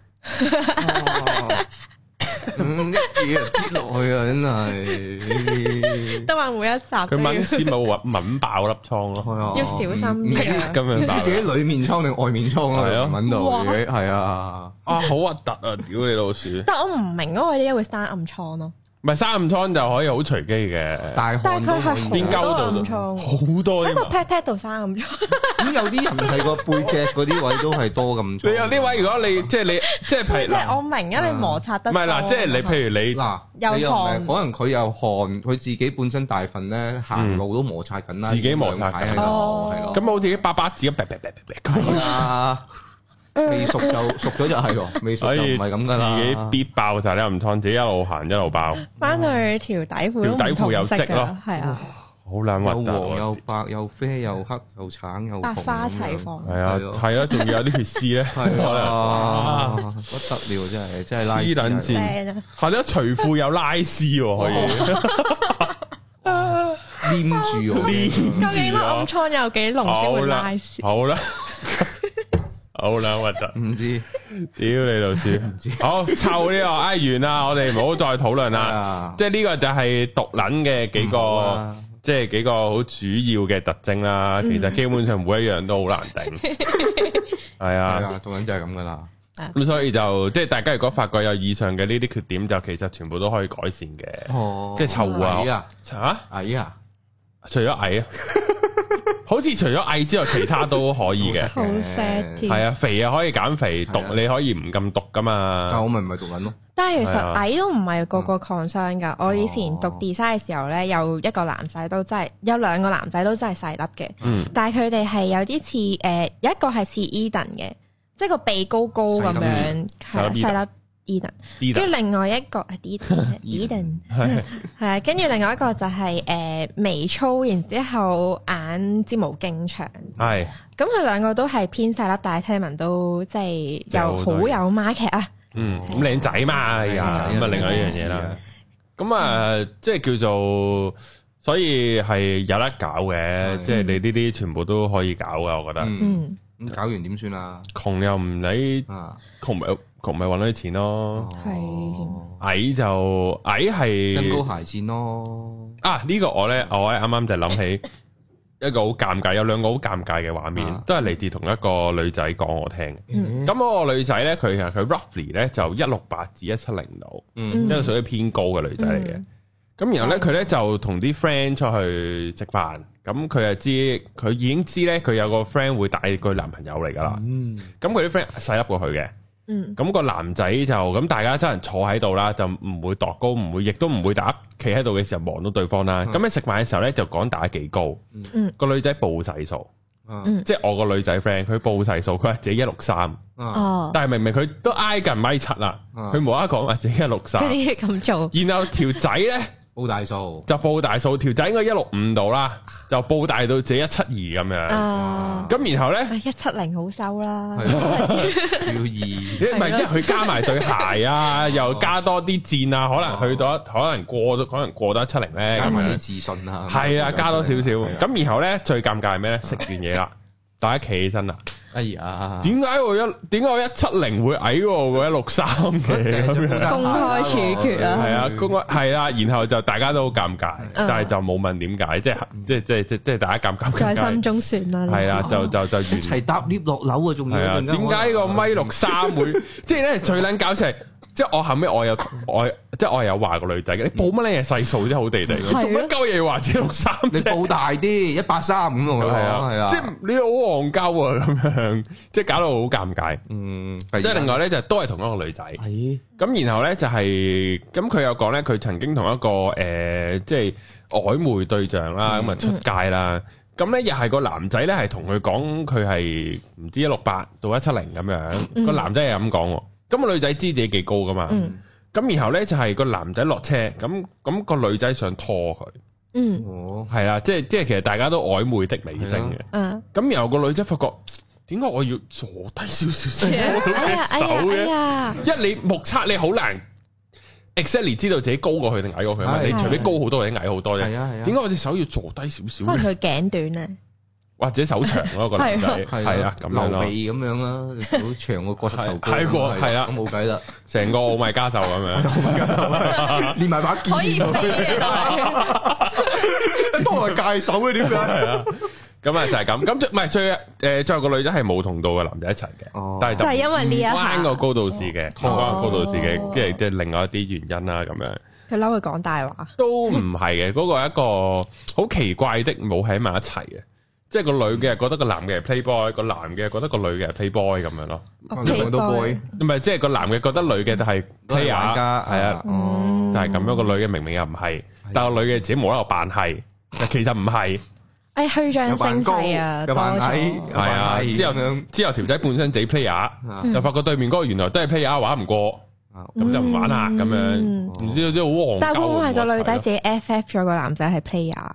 喎， 一嘢就擠落去啊！真係都話每一集佢搵屎冇搵爆粒瘡咯， 要小心啲咁樣， 唔知自己裏面瘡定外面瘡啊？係啊，搵到嘅係啊， 好核突啊！屌你老鼠！ 但我唔明嗰個點解會生暗瘡咯。 唔係生暗瘡就可以好隨機嘅， 但係佢係邊溝度好多喺個 pat pat 度生暗瘡。 咁有啲人係個背脊嗰啲位都係多暗瘡。 你有啲位，如果你即係譬如， 即係我明啊，你摩擦得唔係嗱，即係你譬如你嗱，有汗，可能佢有汗，佢自己本身大份咧，行路都摩擦緊啦， 自己摩擦緊係咯，咁好似巴巴子咁， 係啊。未熟咗就係喎，未熟就唔係咁噶啦。 自己必爆晒啲暗瘡，自己一路行一路爆。 翻去條底褲有色咯， 係啊， 好撚核突。 又黃又白又啡又黑又橙又百花齊放。 係啊，係啊，仲要有啲血絲咧， 係啊，不得了真係拉絲撚線，係咯，除褲有拉絲可以黏住我。 究竟暗瘡有幾濃先會拉絲？ 好啦。好啦，核突， 唔知， 屌你老鼠，好臭呢個，完啦，我哋唔好再討論啦，即係呢個就係毒撚嘅幾個，即係幾個好主要嘅特徵啦。其實基本上每一樣都好難頂，係啊， 毒撚就係咁噶啦。 咁所以就即係大家如果發覺有以上嘅呢啲缺點，就其實全部都可以改善嘅，即係臭啊， 矮啊， 除咗矮啊。好似除咗矮之外，其他都可以嘅。 好 sad 添。 係啊，肥啊可以減肥，毒你可以唔咁毒噶嘛。 但我咪唔係毒撚咯。 但係其實矮都唔係個個 concern噶。我以前讀 design 嘅時候咧，有一個男仔都真係，有兩個男仔都真係細粒嘅。但係佢哋係有啲似有一個係似 Eden 嘅，即係個鼻高高咁樣，係細粒。Eden， 跟住另外一個係 Eden， 係啊，跟住另外一個就係眉粗，然之後眼睫毛勁長，係，咁佢兩個都係偏細粒，但係聽聞都即係又好有 market 啊， 咁靚仔嘛，咁啊另外一樣嘢啦，咁啊即係叫做，所以係有得搞嘅，即係你呢啲全部都可以搞噶，我覺得， 咁搞完點算啊？ 窮又唔理，窮咪搵到啲錢咯，矮就矮係增高鞋墊咯。 呢個我咧啱啱就諗起一個好尷尬，有兩個好尷尬嘅畫面，都係嚟自同一個女仔講我聽嘅。咁嗰個女仔咧，佢 roughly 咧就168至170度，即係屬於偏高嘅女仔嚟嘅。 咁然後咧佢咧就同啲 friend 出去食飯，咁佢已經知咧佢有個 friend 會帶佢男朋友嚟噶啦。咁佢啲 friend 細粒過佢嘅。咁個男仔就咁，大家真係坐喺度啦，就唔會度高，唔會，亦都唔會打企喺度嘅時候望到對方啦。咁喺食飯嘅時候咧，就講打幾高。個女仔報細數，即係我個女仔 friend，佢報細數，佢話自己163，但係明明佢都挨近1.7啦，佢冇得講話自己163。 佢點解咁做？ 然後條仔咧報大數， 就報大數，條仔應該165度啦，就報大到自己172咁樣。咁然後咧 170好收啦， 要2， 唔係即係佢加埋對鞋啊，又加多啲箭啊，可能去到可能過得170咧， 加埋啲自信啊， 係啊，加多少少。咁然後咧最尷尬係咩咧？食完嘢啦，大家企起身啦。 哎呀， 點解我170會矮過我163嘅咁樣？ 公開處決啊！ 係啊，公開係啦，然後就大家都好尷尬，但係就冇問點解，即係大家尷尬。 在心中算啦。係啊，就一齊搭 lift 落樓啊，仲要。 點解個1.63會？即係咧最撚搞笑係。即係我後尾我有話個女仔嘅，你報乜嘢細數啫，好地地，做乜鳩嘢話163？ 你報大啲183咁咯，係啊， 即係你好戇鳩啊咁樣，即係搞到好尷尬。即係另外咧就都係同一個女仔，咁然後咧就係咁佢有講咧，佢曾經同一個即係曖昧對象啦，咁啊出街啦，咁咧又係個男仔咧係同佢講佢係唔知168到170咁樣，個男仔係咁講。咁個女仔知自己幾高噶嘛？咁然後咧就係個男仔落車，咁個女仔想拖佢，係啦，即係其實大家都曖昧的尾聲嘅。咁然後個女仔發覺，點解我要坐低少少先摸到隻手嘅？一你目測你好難 exactly 知道自己高過佢定矮過佢嘛？你除非高好多或者矮好多啫。點解我隻手要坐低少少？ 可能佢頸短咧。 或者手長咯，個男仔係啊，咁樣咯， 劉備咁樣啦，手長個膝頭哥， 係啊， 冇計啦， 成個奧米加獸咁樣， 連埋把劍可以飛多埋界手嘅點解？ 係啊，咁啊就係咁，咁唔係最後個女仔係冇同到個男仔一齊嘅，但係就係因為呢一關個高度試嘅，關個高度試嘅，跟住即係另外一啲原因啦，咁樣。 佢嬲佢講大話， 都唔係嘅，嗰個係一個好奇怪的冇喺埋一齊嘅。即係個女嘅覺得個男嘅係 playboy，個男嘅覺得個女嘅係 playboy 咁樣咯。 兩個都 boy， 唔係即係個男嘅覺得女嘅就係 player，係啊，就係咁樣。個女嘅明明又唔係，但係個女嘅自己冇喺度扮係，其實唔係。 誒，虛張聲勢啊，多咗。 係啊，之後條仔本身自己 player，就發覺對面嗰個原來都係 player，玩唔過，咁就唔玩啦。咁樣唔知好戇鳩。 但係會唔會係個女仔自己 FF 咗個男仔係 player？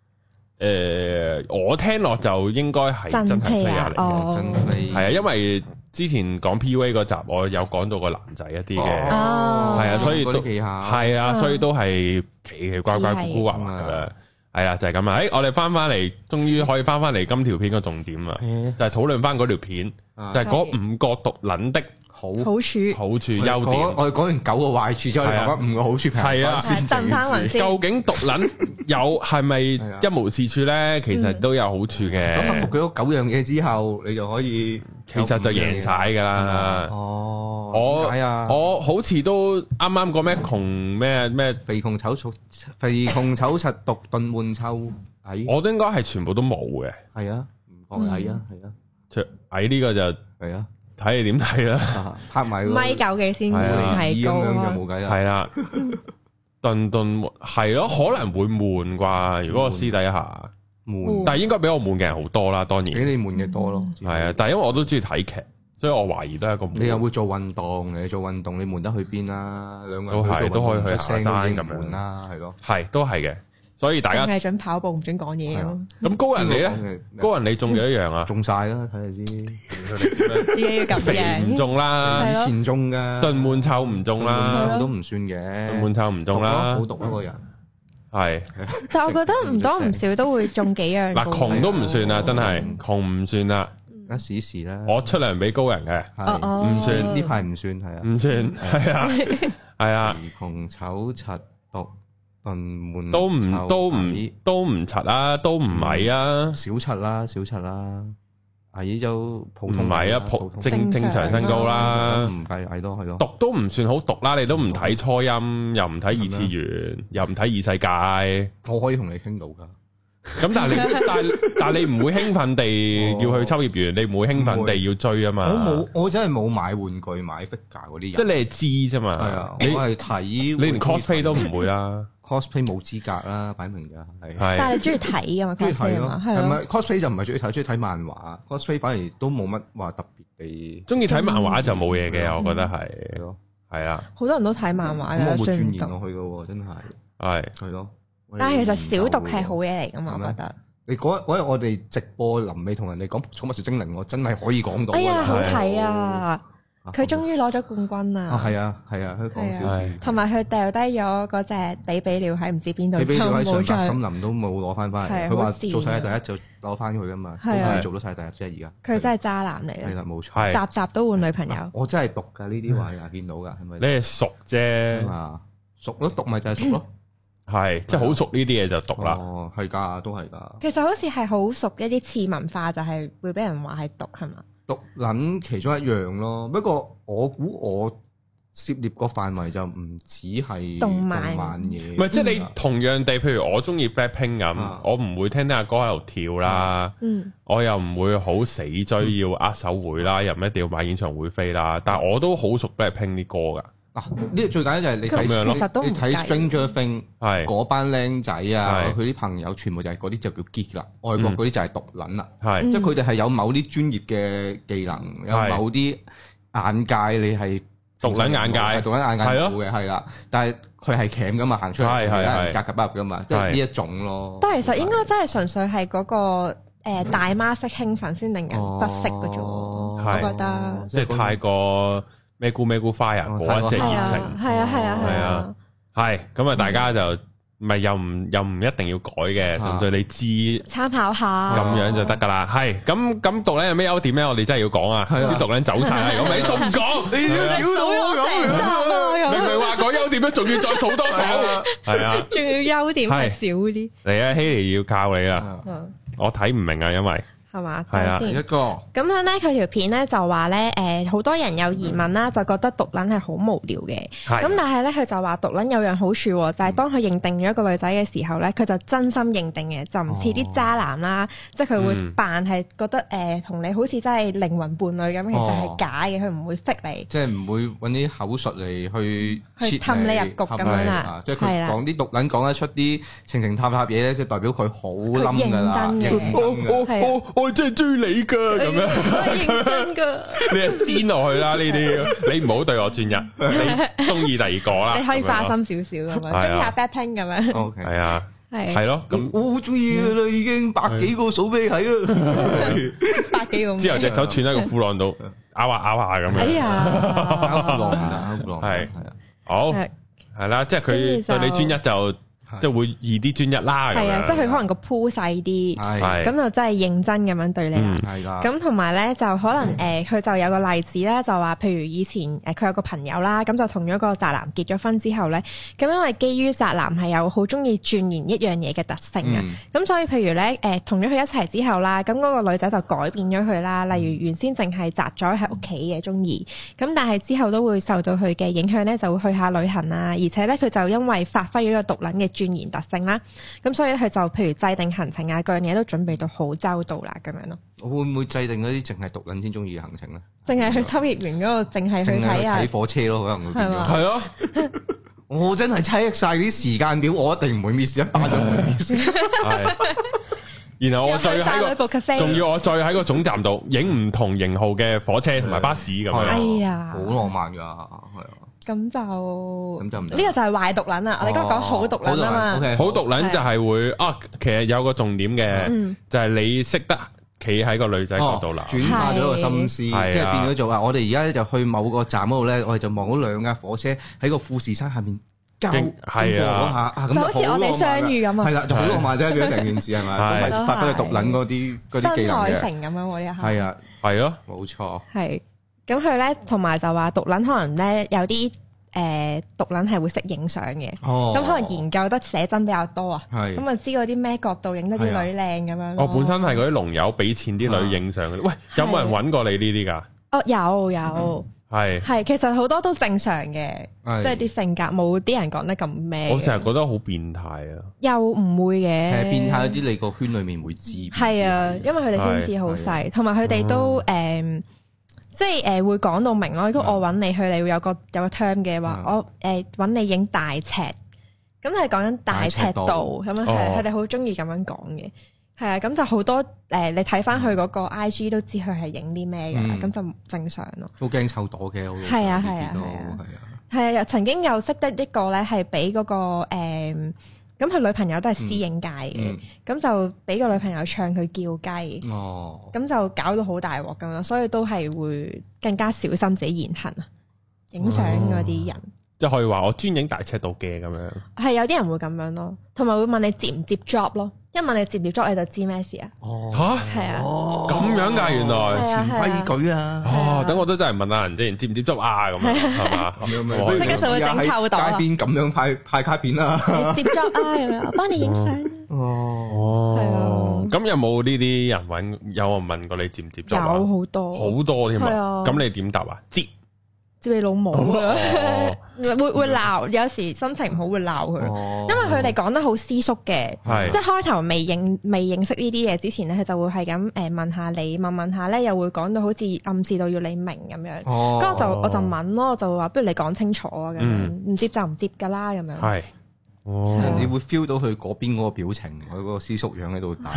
我聽落就應該係真係 player 嚟嘅，真係係啊，因為之前講 PUA 嗰集，我有講到個男仔一啲嘅，係啊，所以都係啊，所以都係奇奇怪怪、古古惑惑噶啦，係啊，就係咁啊！我哋翻嚟，終於可以翻嚟今條片嘅重點啊，就係討論翻嗰條片，就係嗰5個毒撚的好處、優點。 我哋講完9個壞處之後，講翻5個好處， 係啊， 鄧翻雲先。 究竟毒撚係咪一無是處咧？其實都有好處嘅。 咁克服咗9樣嘢之後，你就可以其實就贏晒噶啦。 哦， 我好似都啱啱講咩窮咩肥窮醜柒毒燉悶臭矮， 我都應該係全部都冇嘅。 係啊，唔講矮啊，係啊， 矮呢個就係啊。睇你點睇啦， 拍埋米九幾先算係高啊， 就冇計啦。 係啦，頓係咯，可能會悶啩。如果我私底下悶，但係應該比我悶嘅人好多啦。當然比你悶嘅多咯。 係啊，但係因為我都中意睇劇，所以我懷疑都係一個悶。 你又會做運動，你做運動你悶得去邊啦？兩個人都可以去行山咁樣啦，係咯， 係都係嘅。所以大家淨係準跑步，唔準講嘢咯。 咁高人你咧？高人你中幾多樣啊？ 中晒啦，睇下先。 自己要咁贏。 唔中啦， 以前中嘅。 燉悶臭唔中啦， 都唔算嘅。 燉悶臭唔中啦， 好毒一個人。 係。 但係我覺得唔多唔少都會中幾樣。 嗱，窮都唔算啦，真係窮唔算啦。 一時時啦。 我出糧俾高人嘅，唔算呢排唔算係啊。 唔算係啊，係啊。 窮醜柒毒。 都唔柒啊，都唔矮啊， 小柒啦， 矮就普通， 唔係啊，正常身高啦， 唔計矮咯，係咯。 讀都唔算好讀啦，你都唔睇初音，又唔睇二次元，又唔睇異世界， 我可以同你傾到噶。 咁但係你唔會興奮地要去秋葉原，你唔會興奮地要追啊嘛。 我真係冇買玩具買 figure 嗰啲人， 即係你係知啫嘛。係啊，我係睇， 你連 cosplay 都唔會啦。 cosplay 冇資格啦，擺明㗎係。 但係你中意睇噶嘛？中意睇咯，係咪 cosplay 就唔係中意睇，中意睇漫畫。cosplay 反而都冇乜話特別地。 中意睇漫畫就冇嘢嘅，我覺得係咯，係啊。 好多人都睇漫畫嘅， 我冇鑽研落去嘅喎，真係。係咯。 但係其實小讀係好嘢嚟㗎嘛，我覺得。 你嗰日我哋直播臨尾同人哋講《寵物小精靈》，我真係可以講到。 哎呀，好睇啊！佢終於攞咗冠軍啊！ 係啊，係啊，佢講少少。 同埋佢掉低咗嗰隻比比鳥喺唔知邊度， 比比鳥喺上白森林都冇攞翻嚟。佢話做世界第一就攞翻佢㗎嘛，都係做到世界第一啫。而家佢真係渣男嚟嘅。 係啦，冇錯。 集集都換女朋友。 我真係讀㗎呢啲話呀，見到㗎係咪？ 你係熟啫嘛？熟咯，讀咪就係熟咯。 係，即係好熟呢啲嘢就讀啦。 哦，係㗎，都係㗎。 其實好似係好熟一啲次文化，就係會俾人話係毒係嘛？ 毒撚其中一樣咯。不過我估我涉獵個範圍就唔止係動漫嘢。 唔係，即係你同樣地，譬如我中意 Blackpink 咁，我唔會聽阿哥喺度跳啦。我又唔會好死追要握手會啦，又唔一定要買演唱會飛啦。但係我都好熟 Blackpink 啲歌㗎。嗱，呢個最簡單就係你睇 Stranger Things 嗰班僆仔啊，佢啲朋友全部就係嗰啲就叫 geek 啦，外國嗰啲就係毒撚啦，即係佢哋係有某啲專業嘅技能，有某啲眼界，你係毒撚眼界， 毒撚眼界冇嘅，係啦，但係佢係鉗噶嘛，行出嚟係格格不入噶嘛，即係呢一種咯。 但係其實應該真係純粹係嗰個大媽式興奮先令人不適嘅啫，我覺得即係太過。咩咕咩咕花啊，嗰一隻熱情， 係啊， 係咁啊！大家就咪又唔一定要改嘅，純粹你知參考下咁樣就得噶啦。係咁毒撚有咩優點咧？我哋真係要講啊！啲毒撚走晒啦，咁你仲唔講？你數咗成集啊！ 明明話講優點咧，仲要再數多數，係啊， 仲要優點係少啲。 嚟啊，希尼要靠你啦！我睇唔明啊，因為。 係嘛？ 係啊， 一個咁樣咧，佢條片咧就話咧，好多人有疑問啦，就覺得毒撚係好無聊嘅。咁但係咧，佢就話毒撚有樣好處，就係當佢認定咗一個女仔嘅時候咧，佢就真心認定嘅，就唔似啲渣男啦，即係佢會扮係覺得同你好似真係靈魂伴侶咁，其實係假嘅，佢唔會 fake 你， 即係唔會揾啲口述嚟去氹你入局咁樣啦。 即係佢講啲毒撚講得出啲情情塔塔嘢咧，即係代表佢好冧㗎啦，認真嘅。我真係追你噶咁樣， 認真噶， 你係煎落去啦呢啲，你唔好對我專一，你中意第二個啦， 你可以花心少少咁樣，中意下 Blackpink咁樣， 係啊，係咯，咁我好中意噶啦，已經百幾個數俾你睇啦， 百幾個， 之後隻手串喺個褲浪度，咬下咁樣， 哎呀， 褲浪唔得， 係啊，好係啦，即係佢對你專一就。即係會易啲專一啦， 係啊，即係佢可能個鋪細啲，咁就真係認真咁樣對你啦。係㗎。咁同埋咧，就可能佢就有個例子咧，就話譬如以前佢有個朋友啦，咁就同咗個宅男結咗婚之後咧，咁因為基於宅男係有好中意鑽研一樣嘢嘅特性啊，咁所以譬如咧同咗佢一齊之後啦，咁嗰個女仔就改變咗佢啦。例如原先淨係宅咗喺屋企嘅中意，咁但係之後都會受到佢嘅影響咧，就會去下旅行啊，而且咧佢就因為發揮咗個毒撚嘅鑽研特性啦，咁所以佢就譬如制定行程啊，各樣嘢都準備到好周到啦，咁樣咯。 我會唔會制定嗰啲淨係毒撚先中意嘅行程咧？ 淨係去秋葉原嗰個，淨係去睇啊！ 睇火車咯，可能會變咗。 係咯， 我真係check晒啲時間表，我一定唔會 miss 一班都唔會 miss。係。 然後我再喺個，仲要我再喺個總站度影唔同型號嘅火車同埋巴士咁樣。 哎呀， 好浪漫㗎，係啊。 咁就唔得，呢個就係壞毒撚啊！我哋剛講好毒撚啊嘛， 好毒撚就係會啊，其實有個重點嘅，就係你識得企喺個女仔角度啦， 轉化咗個心思，即係變咗做話，我哋而家就去某個站嗰度咧，我哋就望到兩架火車喺個富士山下面交過嗰下， 就好似我哋相遇咁啊！ 係啦，就好浪漫啫，成件事係咪？都係發揮毒撚嗰啲技能嘅。 新海誠咁樣喎，呢下係啊， 係咯， 冇錯。 係。咁佢咧，同埋就話毒撚可能咧有啲毒撚係會識影相嘅，咁可能研究得寫真比較多啊，咁啊知道啲咩角度影得啲女靚咁樣。 我本身係嗰啲龍友俾錢啲女影相嘅，喂，有冇人揾過你呢啲㗎？ 哦，有。係，其實好多都正常嘅，即係啲性格冇啲人講得咁咩。我成日覺得好變態啊！ 又唔會嘅， 變態嗰啲你個圈裡面會知。 係啊，因為佢哋圈子好細，同埋佢哋都即係會講到明咯。如果我揾你去，你會有個 term 嘅話，我揾你影大尺，咁係講緊大尺度咁樣，佢哋好中意咁樣講嘅。係啊，咁就好多你睇翻佢嗰個 IG 都知佢係影啲咩嘅，咁就正常咯。 都驚湊朵嘅， 係啊係啊係啊，曾經又識得一個咧係俾嗰個咁佢女朋友都係私影界嘅，咁就俾個女朋友唱佢叫雞，咁就搞到好大鑊咁樣，所以都係會更加小心自己言行啊，影相嗰啲人。 即係可以話我專影大尺度嘅咁樣。係有啲人會咁樣咯，同埋會問你接唔接 job 咯。一問你接唔接 job 你就知咩事啊？ 嚇， 係啊， 咁樣㗎原來潛規矩啊！ 等我都真係問下人先，接唔接 job 啊？咁樣係嘛？ 咁樣即刻就會整臭袋。 街邊咁樣派卡片啦， 接 job 啊咁樣，我幫你影相。係啊。 咁有冇呢啲人揾？有人問過你接唔接 job 啊？ 有好多好多添啊！咁你點答啊？接你老母啊！會鬧，有時心情唔好會鬧佢，因為佢哋講得好私縮嘅，即係開頭未認識呢啲嘢之前咧，佢就會係咁問下你，問下咧，又會講到好似暗示到要你明咁樣，跟住我就問咯，我就話不如你講清楚啊，咁樣唔接就唔接噶啦，咁樣。係， 你會 feel 到佢嗰邊嗰個表情，佢嗰個私縮樣喺度打。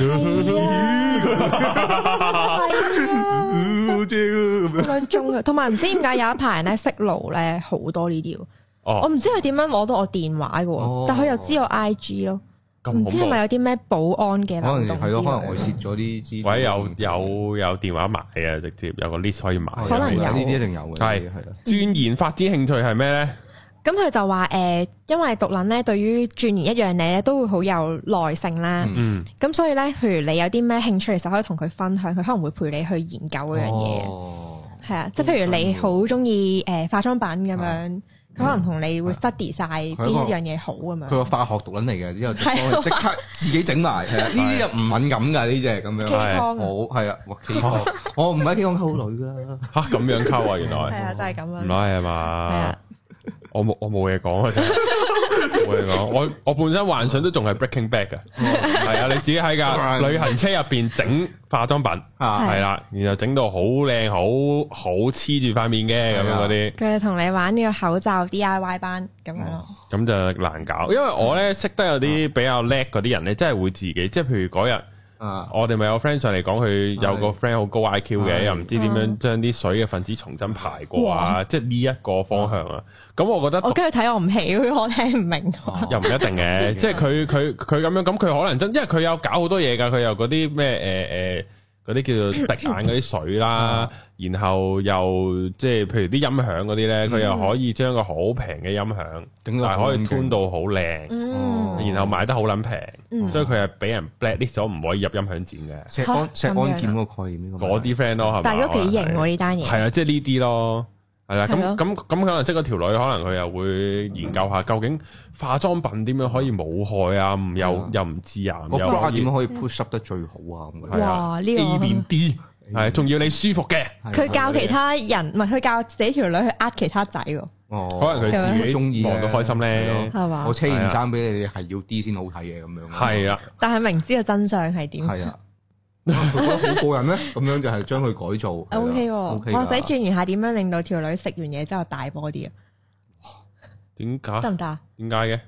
兩鐘嘅，同埋唔知點解有一排人咧識路咧好多呢啲，我唔知佢點樣攞到我電話嘅，但佢又知我 IG 咯，唔知係咪有啲咩保安嘅漏洞？ 係咯，可能外泄咗啲資料， 或者有電話買啊，直接有個 list 可以買， 可能有呢啲一定有嘅。係鑽研發展興趣係咩咧？ 咁佢就話因為毒撚咧，對於鑽研一樣嘢咧，都會好有耐性啦。咁所以咧，譬如你有啲咩興趣，其實可以同佢分享，佢可能會陪你去研究嗰樣嘢。係啊，即係譬如你好中意化妝品咁樣，佢可能同你會 study 晒邊一樣嘢好咁樣。 佢個化學毒撚嚟嘅，之後即刻自己整埋。係啊，呢啲又唔敏感㗎，呢隻咁樣。 K 好係啊，哇 K 康，我唔係 K 康溝女㗎。 嚇咁樣溝啊，原來。 係啊，真係咁樣。 唔係係嘛？我冇嘢講啊，真係冇嘢講。我本身幻想都仲係 Breaking Bad 嘅，係啊，你自己喺架旅行車入邊整化妝品，係啦，然後整到好靚，好黐住塊面嘅咁樣嗰啲。 佢同你玩呢個口罩 DIY 班咁樣咯。 咁就難搞，因為我咧識得有啲比較叻嗰啲人咧，真係會自己，即係譬如嗰日。我哋咪有 friend 上嚟講，佢有個 friend 好高 IQ 嘅，又唔知點樣將啲水嘅分子重新排過啊，即係呢一個方向啊。咁我覺得我跟佢睇我唔起，我聽唔明。 又唔一定嘅，即係佢咁樣，咁佢可能真，因為佢有搞好多嘢㗎，佢有嗰啲咩嗰啲叫做滴眼嗰啲水啦，然後又即係譬如啲音響嗰啲咧，佢又可以將個好平嘅音響，但係可以 tune 到好靚，然後賣得好撚平，所以佢係俾人 blacklist 咗，唔可以入音響展嘅。 石安健嗰個概念， 嗰啲 friend 咯，係咪？ 但係都幾型喎呢單嘢。 係啊，即係呢啲咯。係啦，咁可能識嗰條女，可能佢又會研究下究竟化妝品點樣可以冇害啊，又唔致癌， 個 bra 點樣可以 push up 得最好啊？ 哇！呢個 A 變 D 係，仲要你舒服嘅。 佢教其他人，唔係佢教自己條女去呃其他仔喎。 可能佢自己中意望到開心咧， 係嘛？ 我車件衫俾你，係要 D 先好睇嘅咁樣。 係啊， 但係明知嘅真相係點？ 係啊。佢覺得好過癮咧，咁樣就係將佢改造。 O K，我使轉移下點樣令到條女食完嘢之後大波啲啊？ 點解？ 得唔得啊？ 點解嘅？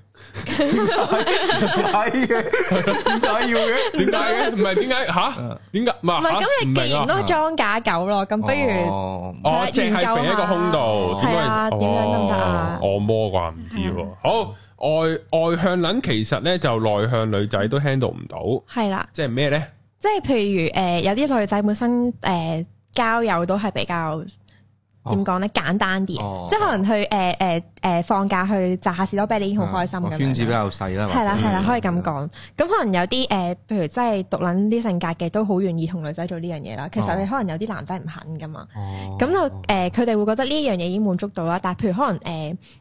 係嘅，點解要嘅？ 點解嘅？唔係點解吓？點解？唔係咁你既然都裝假狗咯，咁不如淨係肥喺個胸度， 係啊？點樣得唔得啊？ 按摩啩？唔知喎。好，外向撚其實咧就內向女仔都 handle 唔到。係啦。即係咩咧？ 即係譬如有啲女仔本身交友都係比較點講咧簡單啲，即係可能去放假去摘下士多啤梨已經好開心咁樣。 圈子比較細啦， 係啦，可以咁講。咁可能有啲譬如真係毒撚啲性格嘅，都好願意同女仔做呢樣嘢啦。其實你可能有啲男仔唔肯噶嘛。咁就佢哋會覺得呢樣嘢已經滿足到啦。但係譬如可能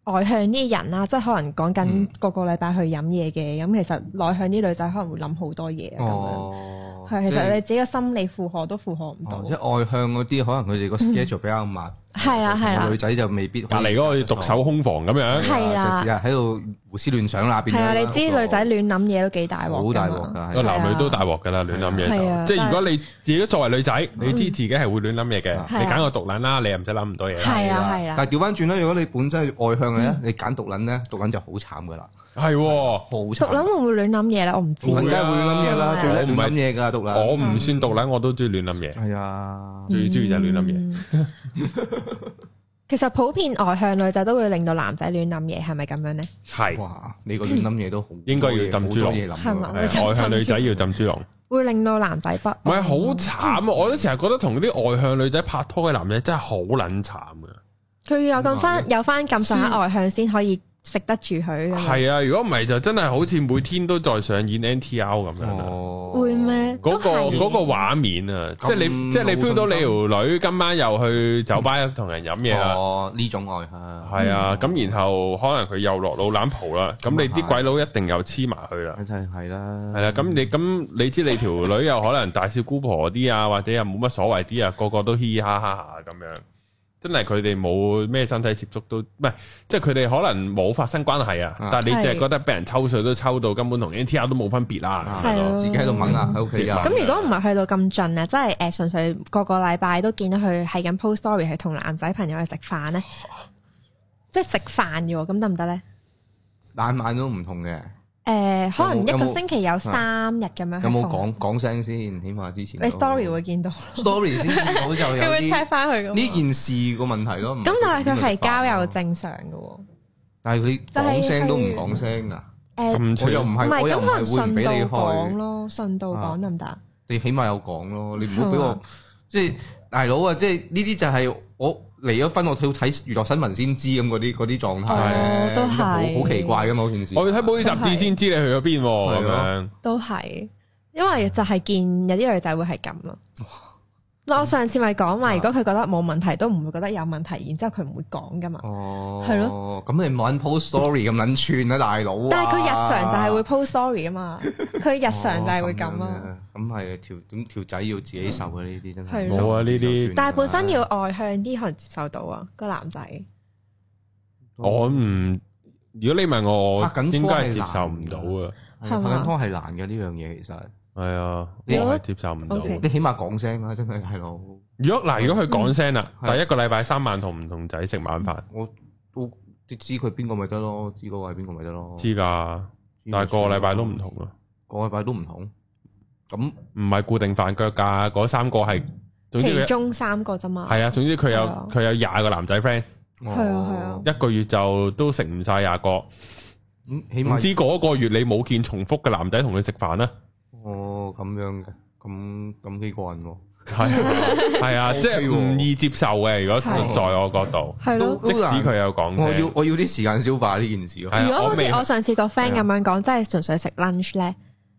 外向啲人啦，即係可能講緊個禮拜去飲嘢嘅，咁其實內向啲女仔可能會諗好多嘢咁樣。係，其實你自己嘅心理負荷都負荷唔到。即係外向嗰啲，可能佢哋個 schedule 比較密。 係啦， 女仔就未必。 隔離嗰個獨守空房咁樣。 係啦， 成日喺度胡思亂想啦，變咗。係啊，你知女仔亂諗嘢都幾大鑊。 好大鑊㗎， 個男女都大鑊㗎啦，亂諗嘢。即係如果你自己作為女仔，你知自己係會亂諗嘢嘅，你揀個獨撚啦，你又唔使諗咁多嘢。 係啊。 但係調翻轉啦，如果你本身係外向嘅咧，你揀獨撚咧，獨撚就好慘㗎啦。 係， 好慘。 獨撚會唔會亂諗嘢咧？我唔知。 梗係會亂諗嘢啦，最叻亂諗嘢㗎獨撚。 我唔算獨撚，我都中意亂諗嘢。 係啊， 最中意就係亂諗嘢。 其實普遍外向女仔都會令到男仔亂諗嘢，係咪咁樣咧？ 係。 哇！你個亂諗嘢都好， 應該要浸豬籠。 係嘛？ 外向女仔要浸豬籠， 會令到男仔不安。 唔係好慘啊！我都成日覺得同啲外向女仔拍拖嘅男仔真係好撚慘㗎。 佢要有翻咁上下外向先可以食得住佢。 係啊，如果唔係就真係好似每天都在上演 NTR 咁樣啦。 會咩？ 嗰個畫面啊，即係你 feel 到你條女今晚又去酒吧同人飲嘢啦。 哦，呢種外向。 係啊，咁然後可能佢又落老懶蒲啦，咁你啲鬼佬一定又黐埋去啦。 係啦。 係啦，咁你知你條女又可能大少姑婆啲啊，或者又冇乜所謂啲啊，個個都嘻嘻哈哈咁樣。真係佢哋冇咩身體接觸都唔係，即係佢哋可能冇發生關係啊，但係你淨係覺得俾人抽水都抽到根本同 NTR 都冇分別啦， 自己喺度掹啊喺屋企啊。 咁如果唔係去到咁盡啊，即係純粹個禮拜都見到佢係咁 post story 係同男仔朋友去食飯咧，即係食飯嘅喎，咁得唔得咧？ 晚都唔同嘅。 可能一個星期有3日咁樣。 有冇講聲先？起碼之前你 story 會見到 story 先見到就有啲。 會踢翻去呢件事個問題咯。 咁但係佢係交友正常嘅喎。 但係佢講聲都唔講聲㗎。我又唔係， 咁可能順道講咯，順道講得唔得？ 你起碼有講咯，你唔好俾我即係大佬啊！即係呢啲就係我。離咗婚，我要睇娛樂新聞先知咁嗰啲狀態， 都係好奇怪㗎嘛！嗰件事， 我要睇報紙雜誌先知你去咗邊咁樣。 都係，因為就係見有啲女仔會係咁咯。我上次咪講話，如果佢覺得冇問題，都唔會覺得有問題，然之後佢唔會講㗎嘛。哦，係咯。咁你唔好 post story 咁撚串啊，大佬。 但係佢日常就係會 post story 啊嘛，佢日常就係會咁啊。 咁係條仔要自己受嘅呢啲真係。 冇啊呢啲。 但係本身要外向啲，可能接受到啊個男仔。 我唔，如果你問我，應該係接受唔到啊。 拍緊拖係難嘅呢樣嘢，其實。係啊，我係接受唔到。你起碼講聲啦，真係係咯。如果佢講聲啦，第一個禮拜3晚同唔同仔食晚飯，我都知佢邊個咪得咯，知嗰個係邊個咪得咯。知㗎，但係個禮拜都唔同啊。個禮拜都唔同，咁唔係固定飯腳㗎，嗰3個係其中3個啫嘛。係啊，總之佢有20個男仔 friend。係啊，一個月就都食唔晒20個。起碼唔知嗰個月你冇見重複嘅男仔同佢食飯咧？哦，咁樣嘅，咁幾過癮喎。係啊，即係唔易接受嘅。如果在我角度，係咯，即使佢有講聲，我要啲時間消化呢件事。如果好似我上次個 friend 咁樣講，即係純粹食 lunch 咧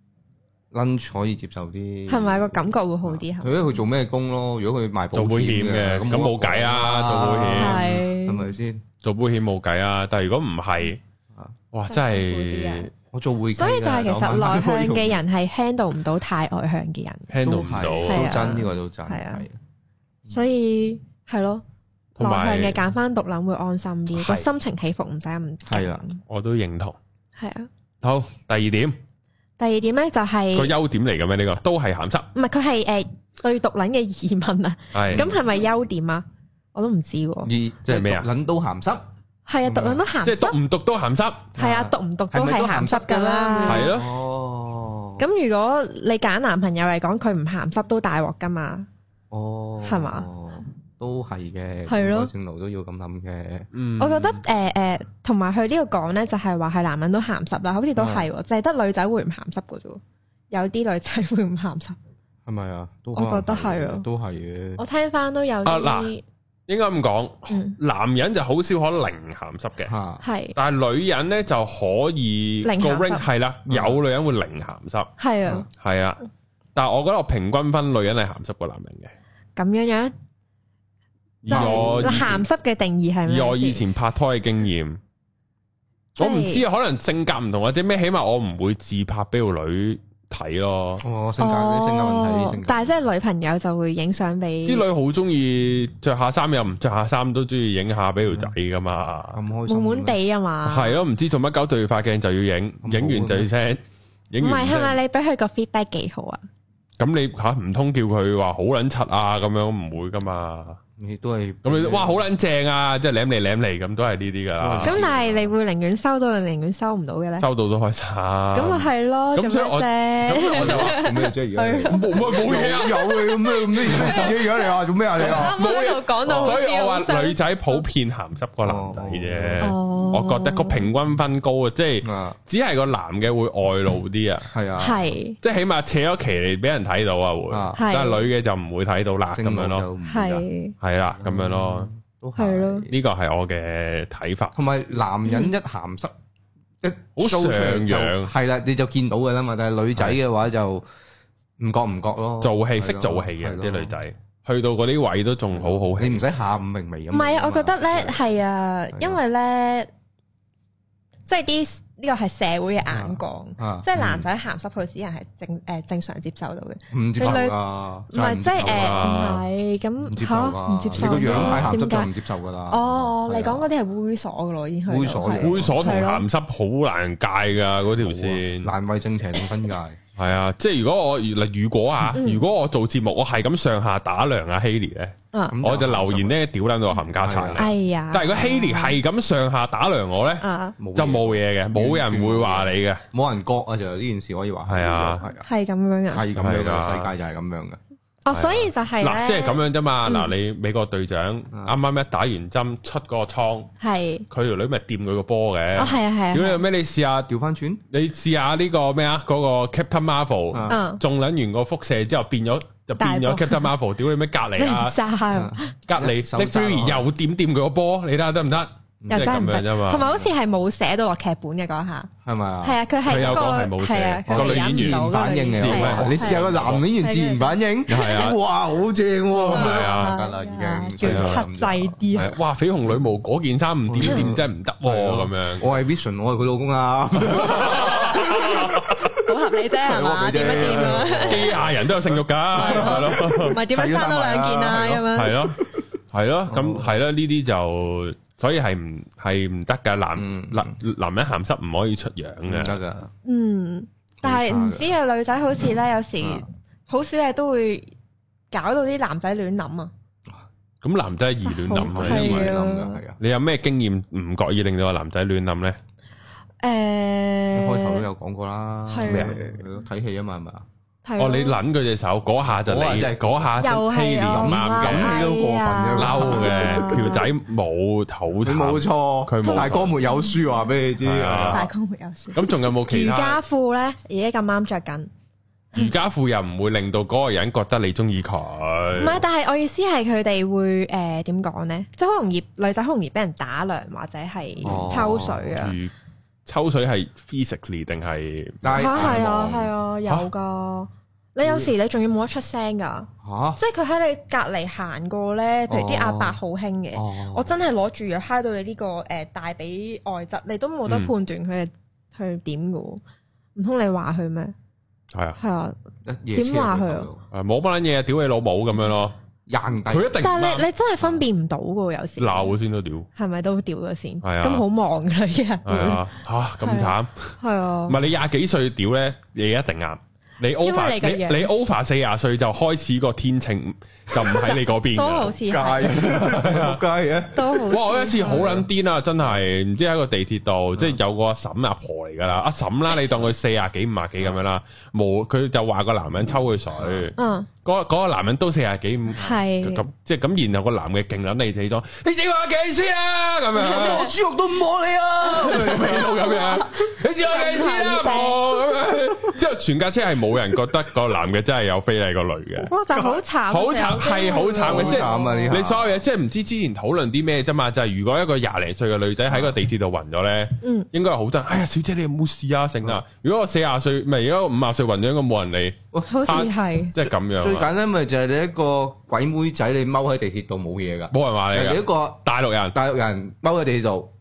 ，lunch 可以接受啲，係咪個感覺會好啲？佢佢做咩工咯？如果佢賣保險嘅，咁冇計啊！做保險係咪先？做保險冇計啊！但係如果唔係，哇，真係〜我做會計，所以就係其實內向嘅人係 handle 唔到太外向嘅人，handle 唔到都真，呢個都真係。所以係咯，內向嘅揀翻獨諗會安心啲，個心情起伏唔使咁。係啊，我都認同。係啊。好，第二點咧就係個優點嚟嘅咩？呢個都係鹹濕。唔係，佢係對獨諗嘅疑問啊。係。咁係咪優點啊？我都唔知喎。即係咩啊？諗都鹹濕。係啊，讀撚都鹹濕，即係讀唔讀都鹹濕。係啊，讀唔讀都係鹹濕噶啦。係咯。哦。咁如果你揀男朋友嚟講，佢唔鹹濕都大鑊噶嘛？哦。係嘛？都係嘅。係咯。正路都要咁諗嘅。嗯。我覺得同埋佢呢個講咧，就係話係男人都鹹濕啦，好似都係，就係得女仔會唔鹹濕噶啫。有啲女仔會唔鹹濕。係咪啊？我覺得係啊。都係嘅。我聽翻都有啲。應該咁講，男人就好少可零鹹濕嘅，係，但係女人咧就可以個 range 係啦，有女人會零鹹濕，係啊，係啊，但係我覺得我平均分女人係鹹濕過男人嘅，咁樣樣，以我鹹濕嘅定義係咩？以我以前拍拖嘅經驗， 我唔知啊，可能性格唔同或者咩，起碼我唔會自拍俾個女睇咯。 性格問題， 但係即係女朋友就會影相俾啲女好中意着下衫又唔着下衫都中意影下俾條仔噶嘛， 咁開心， 悶悶地啊嘛。 係咯，唔知做乜搞對塊鏡就要影，影完就要 send，影完係咪你俾佢個 feedback 幾好啊？ 咁你吓唔通叫佢話好撚柒啊？咁樣唔會噶嘛。 你都係咁你哇好撚正啊！即係舐嚟舐嚟咁都係呢啲噶啦。咁但係你會寧願收到定寧願收唔到嘅咧？ 收到都開心。咁咪係咯。咁所以我就話做咩啫？而家冇嘢啊， 有嘅咁咩自己樣你話做咩啊？你話冇嘢講到。 所以我話女仔普遍鹹濕過男仔啫。我覺得個平均分高啊，即係只係個男嘅會外露啲啊。 係啊， 係即係起碼扯咗旗嚟俾人睇到啊會，但係女嘅就唔會睇到啦咁樣咯。係啦，咁樣咯， 都係咯， 呢個係我嘅睇法。 同埋男人一鹹濕， 好上揚， 係啦，你就見到嘅啦嘛。但係女仔嘅話就唔覺咯， 做戲識做戲嘅啲女仔，去到嗰啲位都仲好好戲。 你唔使下午明媚咁。 唔係啊，我覺得咧係啊，因為咧即係啲。呢個係社會嘅眼光，即係男仔鹹濕，佢啲人係正常接受到嘅。 唔接受啊！ 唔係即係唔係咁嚇，唔接受。 你個樣太鹹濕就唔接受㗎啦。 哦，你講嗰啲係猥瑣㗎咯，已經係。 猥瑣同鹹濕好難界㗎嗰條線， 難為正邪定分界。 係啊，即係如果我做節目，我係咁上下打量阿 Hailee 咧，我就留言咧屌撚到冚家鏟。 係呀， 但係如果 Hailee 係咁上下打量我咧，就冇嘢嘅，冇人會話你嘅， 冇人覺啊！就呢件事可以話係啊， 係咁樣嘅， 係咁樣嘅世界就係咁樣嘅。 哦，所以就係嗱，即係咁樣啫嘛。嗱，你美國隊長啱啱一打完針出嗰個倉，係佢條女咪掂佢個波嘅。哦，係啊，係啊。屌你咩？你試下調翻轉，你試下呢個咩啊？嗰個 Captain Marvel，中撚完個輻射之後變咗 Captain Marvel。屌你咩？隔離啊，隔離 Nick Fury 又掂佢個波，你睇下得唔得？ 又真係唔得，同埋好似係冇寫到落劇本嘅嗰下， 係咪啊？ 係啊，佢係一個係啊，個女演員反應嘅，你試下個男演員自然反應，係啊，哇，好正喎，係啊，得啦，已經叫克制啲。 哇，緋紅女巫嗰件衫唔掂真係唔得喎，咁樣。 我係 Vision，我係佢老公啊， 好合理啫係嘛？掂一掂啊！ 機械人都有性慾㗎，係咯， 唔係點樣生多兩件啊？咁樣係咯，係咯，咁係咯，呢啲就。所以係唔得噶，男人鹹濕唔可以出樣嘅，唔得噶。 但係唔知啊，女仔好似咧，有時好少嘢都會搞到啲男仔亂諗啊。 咁男仔易亂諗啊，係啊。你有咩經驗唔覺意令到個男仔亂諗咧？ 開頭都有講過啦，咩睇戲啊嘛，係咪啊？ 哦，你捻佢隻手嗰下就你，嗰下就Hailee咁啱嘅， 咁都過分嘅， 嬲嘅條仔冇討慘， 冇錯，佢大哥沒有輸，話俾你知， 大哥沒有輸。 咁仲有冇其他？瑜伽褲咧，而家咁啱着緊。 瑜伽褲又唔會令到嗰個人覺得你中意佢。 唔係，但係我意思係佢哋會點講咧？即係好容易女仔好容易俾人打量或者係抽水啊。 抽水係 physically 定係？ 係啊，有噶。你有時你仲要冇得出聲噶，即係佢喺你隔籬行過咧，譬如啲阿伯好興嘅，我真係攞住又揩到你呢個大髀外側，你都冇得判斷佢係去點噶，唔通你話佢咩？係啊，點話佢啊？ 冇乜嘢，屌你老母咁樣咯。佢一定， 但係你真係分辨唔到噶，有時鬧先都屌，係咪都屌咗先？係啊，咁好忙噶呢人， 係啊，吓咁慘，係啊，唔係你廿幾歲屌咧，你一定啱。你 over 40歲就開始個天秤就唔喺你嗰邊， 都好似係， 街嘅， 都好。 哇！我有一次好撚癲啊，真係唔知喺個地鐵度，即係有個阿嬸阿婆嚟噶啦，阿嬸啦，你當佢40幾50幾咁樣啦，冇佢就話個男人抽佢水，嗰個男人都40幾5，咁即係咁，然後個男嘅勁撚你死咗，你知我幾先啊？咁樣我豬肉都唔摸你啊！味道咁樣，你知我幾先啊？咁樣之後全架車係冇人覺得個男嘅真係有非禮個女嘅， 哇！就好慘， 好慘，係好慘嘅，即係你所有嘢，即係唔知之前討論啲咩啫嘛？就係如果一個20零歲嘅女仔喺個地鐵度暈咗咧，應該係好多人。哎呀，小姐你有冇事啊？成啊！如果我40歲，唔係如果50歲暈咗，應該冇人理。 好似係， 即係咁樣。 最簡單咪就係你一個鬼妹仔，你踎喺地鐵度冇嘢噶， 冇人話你。 人哋一個大陸人踎喺地鐵度，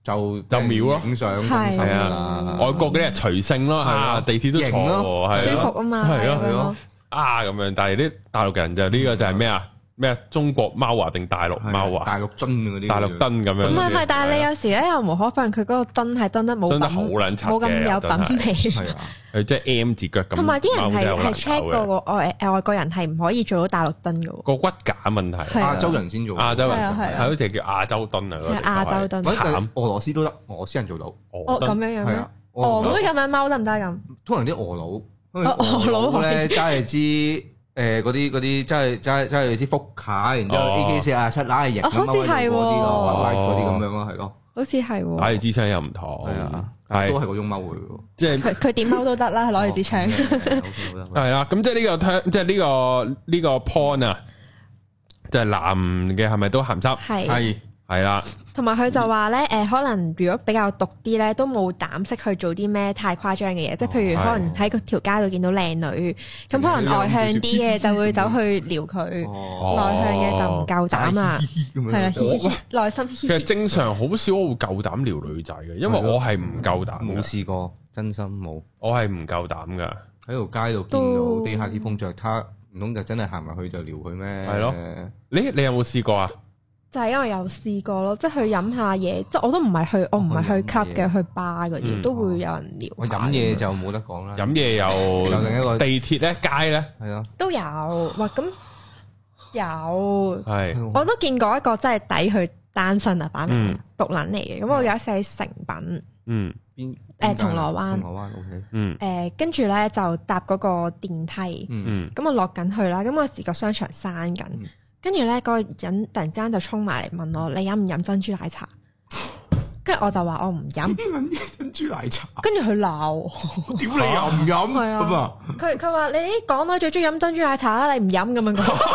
就秒咯，影相係啊，外國嗰啲係隨性咯嚇，地鐵都坐舒服啊嘛， 係咯咁樣，但係啲大陸人就呢個就係咩啊？咩中國貓啊定大陸貓啊？ 大陸樽嗰啲， 大陸燈咁樣。 唔係，但係你有時咧又無可否認，佢嗰個燈係燈得冇燈得好撚柒嘅， 冇咁有品味。 係啊， 佢即係 M 字腳咁。 同埋啲人係 check 過個外國人係唔可以做到大陸燈嘅。 個骨架問題， 亞洲人先做。 亞洲人係好似叫亞洲燈啊。 係亞洲燈。 慘，俄羅斯都得，俄羅斯人做到。 咁樣樣咩？俄佬咁樣貓得唔得咁？ 通常啲俄佬咧揸係支。嗰啲真係支福卡，然之後 AK-47拉型， 好似係嗰啲咁樣咯，係咯， 好似係攞住支槍又唔同， 係都係嗰種踎嘅， 即係佢點踎都得啦，攞住支槍。 係啦，咁即係呢個 point 啊，就係男嘅係咪都鹹濕？係啦， 同埋佢就話咧，可能如果比較毒啲咧，都冇膽識去做啲咩太誇張嘅嘢，即係譬如可能喺個條街度見到靚女，咁可能外向啲嘅就會走去撩佢，內向嘅就唔夠膽啦，係啦，內心。 其實正常好少我會夠膽撩女仔嘅，因為我係唔夠膽， 冇試過，真心冇， 我係唔夠膽噶。 喺條街度見到地下啲碰着他，唔通就真係行埋去就撩佢咩？ 係咯，你有冇試過啊？ 就係因為有試過咯，即係去飲下嘢，即係我都唔係去 club 嘅，去 bar 嗰啲都會有人聊。 我飲嘢就冇得講啦。 飲嘢有另一個地鐵咧，街咧， 係咯， 都有。哇，咁有係， 我都見過一個真係抵佢單身啊，擺明毒撚嚟嘅。咁我有一次喺誠品，銅鑼灣，OK，跟住咧就搭嗰個電梯，咁我落緊去啦，咁嗰時個商場閂緊。跟住咧，嗰個人突然之間就衝埋嚟問我：你飲唔飲珍珠奶茶？跟住我就話我唔飲。 珍珠奶茶。 跟住佢鬧我： 屌你又唔飲？係啊。 佢話你啲港女最中意飲珍珠奶茶啦，你唔飲咁樣講。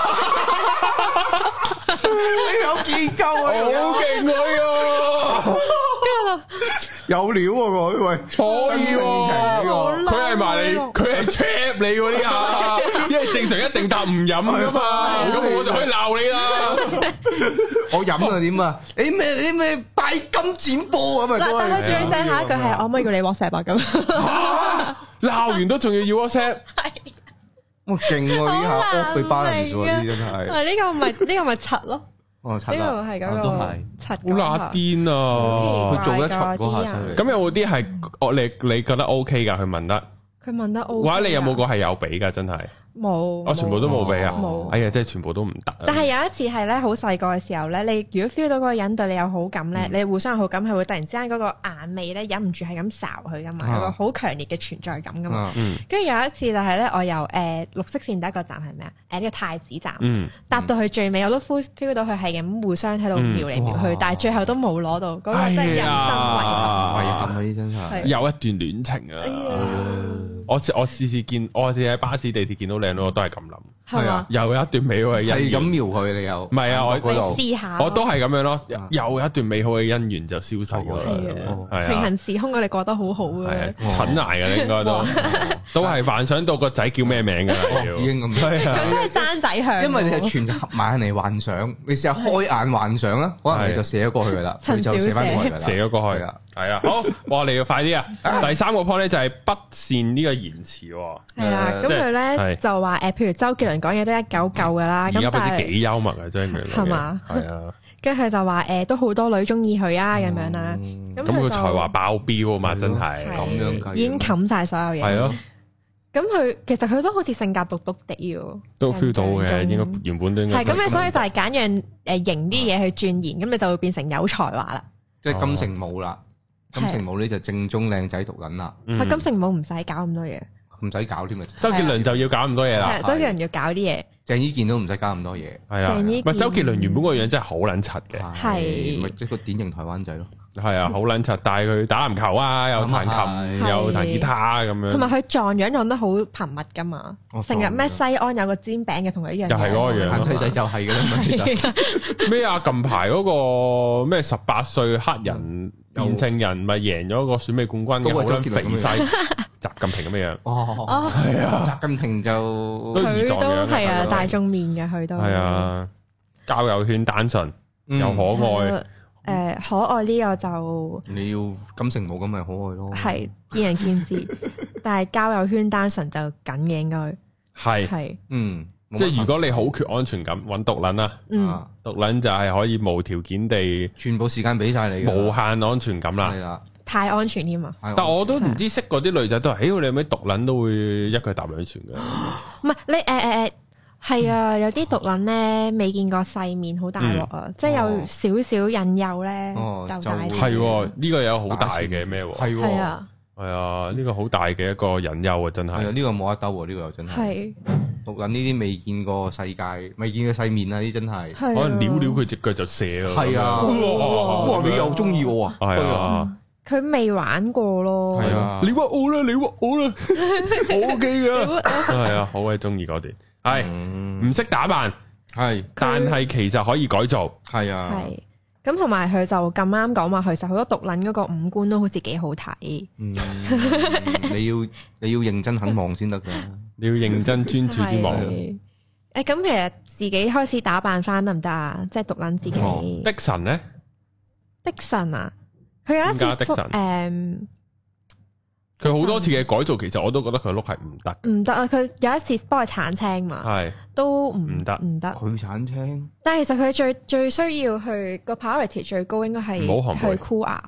你有見夠啊！ 好勁佢啊！ 跟住有料喎佢，喂， 可以喎，佢係埋你，佢係 trap 你嗰啲啊，因為正常一定答唔飲噶嘛，咁我就可以鬧你啦。 我飲啊點啊？你咩拜金剪波咁啊？ 但係佢最正下一句係：我可唔可以叫你 WhatsApp 啊？咁鬧完都仲要 WhatsApp。 哇勁喎！呢下 off the balance 喎，呢真係。 呢個咪柒咯。 呢個係嗰個柒， 好乸癲啊！ 佢做得出嗰下犀利。 咁有冇啲係你覺得 OK 噶？佢問得， 佢問得 OK。 或者你有冇個係有俾噶？真係冇， 我全部都冇俾啊！ 冇， 哎呀，真係全部都唔得。 但係有一次係咧，好細個嘅時候咧，你如果 feel 到嗰個人對你有好感咧，你互相有好感，係會突然之間嗰個眼尾咧忍唔住係咁睄佢噶嘛，有個好強烈嘅存在感噶嘛。跟住有一次就係咧，我由綠色線第一個站係咩啊？呢個太子站，搭到去最尾，我都 feel 到佢係咁互相喺度瞄嚟瞄去，但係最後都冇攞到，嗰個真係人生遺憾。 遺憾嗰啲真係有一段戀情啊！我試見，我試喺巴士地鐵見到靚女，我都係咁諗。 係啊， 又有一段美好嘅姻緣。 係咁瞄佢，你又唔係啊？我試下， 我都係咁樣咯。又有一段美好嘅姻緣就消失咗啦。係啊， 平行時空，我哋過得好好啊。 蠢捱嘅應該都係幻想到個仔叫咩名㗎。 已經咁。 佢真係生仔向。 因為你係全合埋眼嚟幻想，你試下開眼幻想啦，可能你就寫咗過去㗎啦，佢就寫翻過去㗎啦， 寫咗過去啦。係啊，好，我哋要快啲啊！第三個 point 咧就係不善呢個言辭。 係啊，咁佢咧就話譬如周杰倫講嘢都一嚿嚿噶啦，咁但係幾幽默啊，真係係嘛？ 係啊， 跟住佢就話都好多女中意佢啊，咁樣啦。咁佢才華爆標啊嘛，真係咁樣已經冚晒所有嘢。 係咯。 咁佢其實佢都好似性格毒毒地喎， 都 feel 到嘅，應該原本都應該係咁樣，所以就係揀樣型啲嘢去鑽研，咁你就會變成有才華啦。 即係金城武啦。金城武呢就正宗靚仔毒撚啦， 金城武唔使搞咁多嘢， 唔使搞添啊！ 周杰倫就要搞咁多嘢啦， 周杰倫要搞啲嘢， 鄭伊健都唔使搞咁多嘢， 係啊，唔係周杰倫原本個樣真係好撚柒嘅， 係咪一個典型台灣仔咯？ 係啊，好撚柒，但係佢打籃球啊，又彈琴，又彈吉他咁樣， 同埋佢撞樣撞得好頻密噶嘛，成日咩西安有個煎餅嘅同佢一樣， 又係嗰個樣， 眼仔就係嘅啦嘛，其實咩啊？近排嗰個咩18歲黑人變性人咪贏咗個選美冠軍嘅，好撚肥細，習近平咁嘅樣。 哦，係啊，習近平就佢都係啊，大眾面嘅佢都係啊，交友圈單純又可愛。 可愛呢個就你要金城武咁咪可愛咯， 係見仁見智，但係交友圈單純就緊嘅應該係即係如果你好缺安全感，揾毒撚啦，毒撚就係可以無條件地全部時間俾晒你， 無限安全感啦， 係啦， 太安全添啊！ 但我都唔知識嗰啲女仔都係，你有咩毒撚都會一腳踏兩船嘅， 唔係你係啊，有啲毒撚咧未見過世面，好大鑊啊！即係有少少引誘咧，就大係呢個有好大嘅咩？ 係啊。 係啊，呢個好大嘅一個隱憂啊，真係。係啊， 呢個冇得兜喎，呢個又真係。係。毒撚呢啲未見過世界，未見過世面啊！呢真係。 可能撩撩佢隻腳就射咯。 係啊。哇！你又中意我啊？ 係啊。 佢未玩過咯。 係啊。你屈我啦！你屈我啦！我 OK 噶。係啊，好鬼中意嗰段。係。唔識打扮。係。但係其實可以改造。係啊。係。 咁同埋佢就咁啱講話，其實好多毒撚嗰個五官都好似幾好睇。 你要認真肯望先得噶， 你要認真專注啲望。 咁其實自己開始打扮翻得唔得啊？即係毒撚自己。 的神咧？ 的神啊！佢有一次佢好多次嘅改造，其實我都覺得佢碌係唔得。 唔得啊！佢有一次幫佢鏟青嘛，係都唔得。 佢鏟青， 但係其實佢最需要去個 priority 最高應該係去箍牙。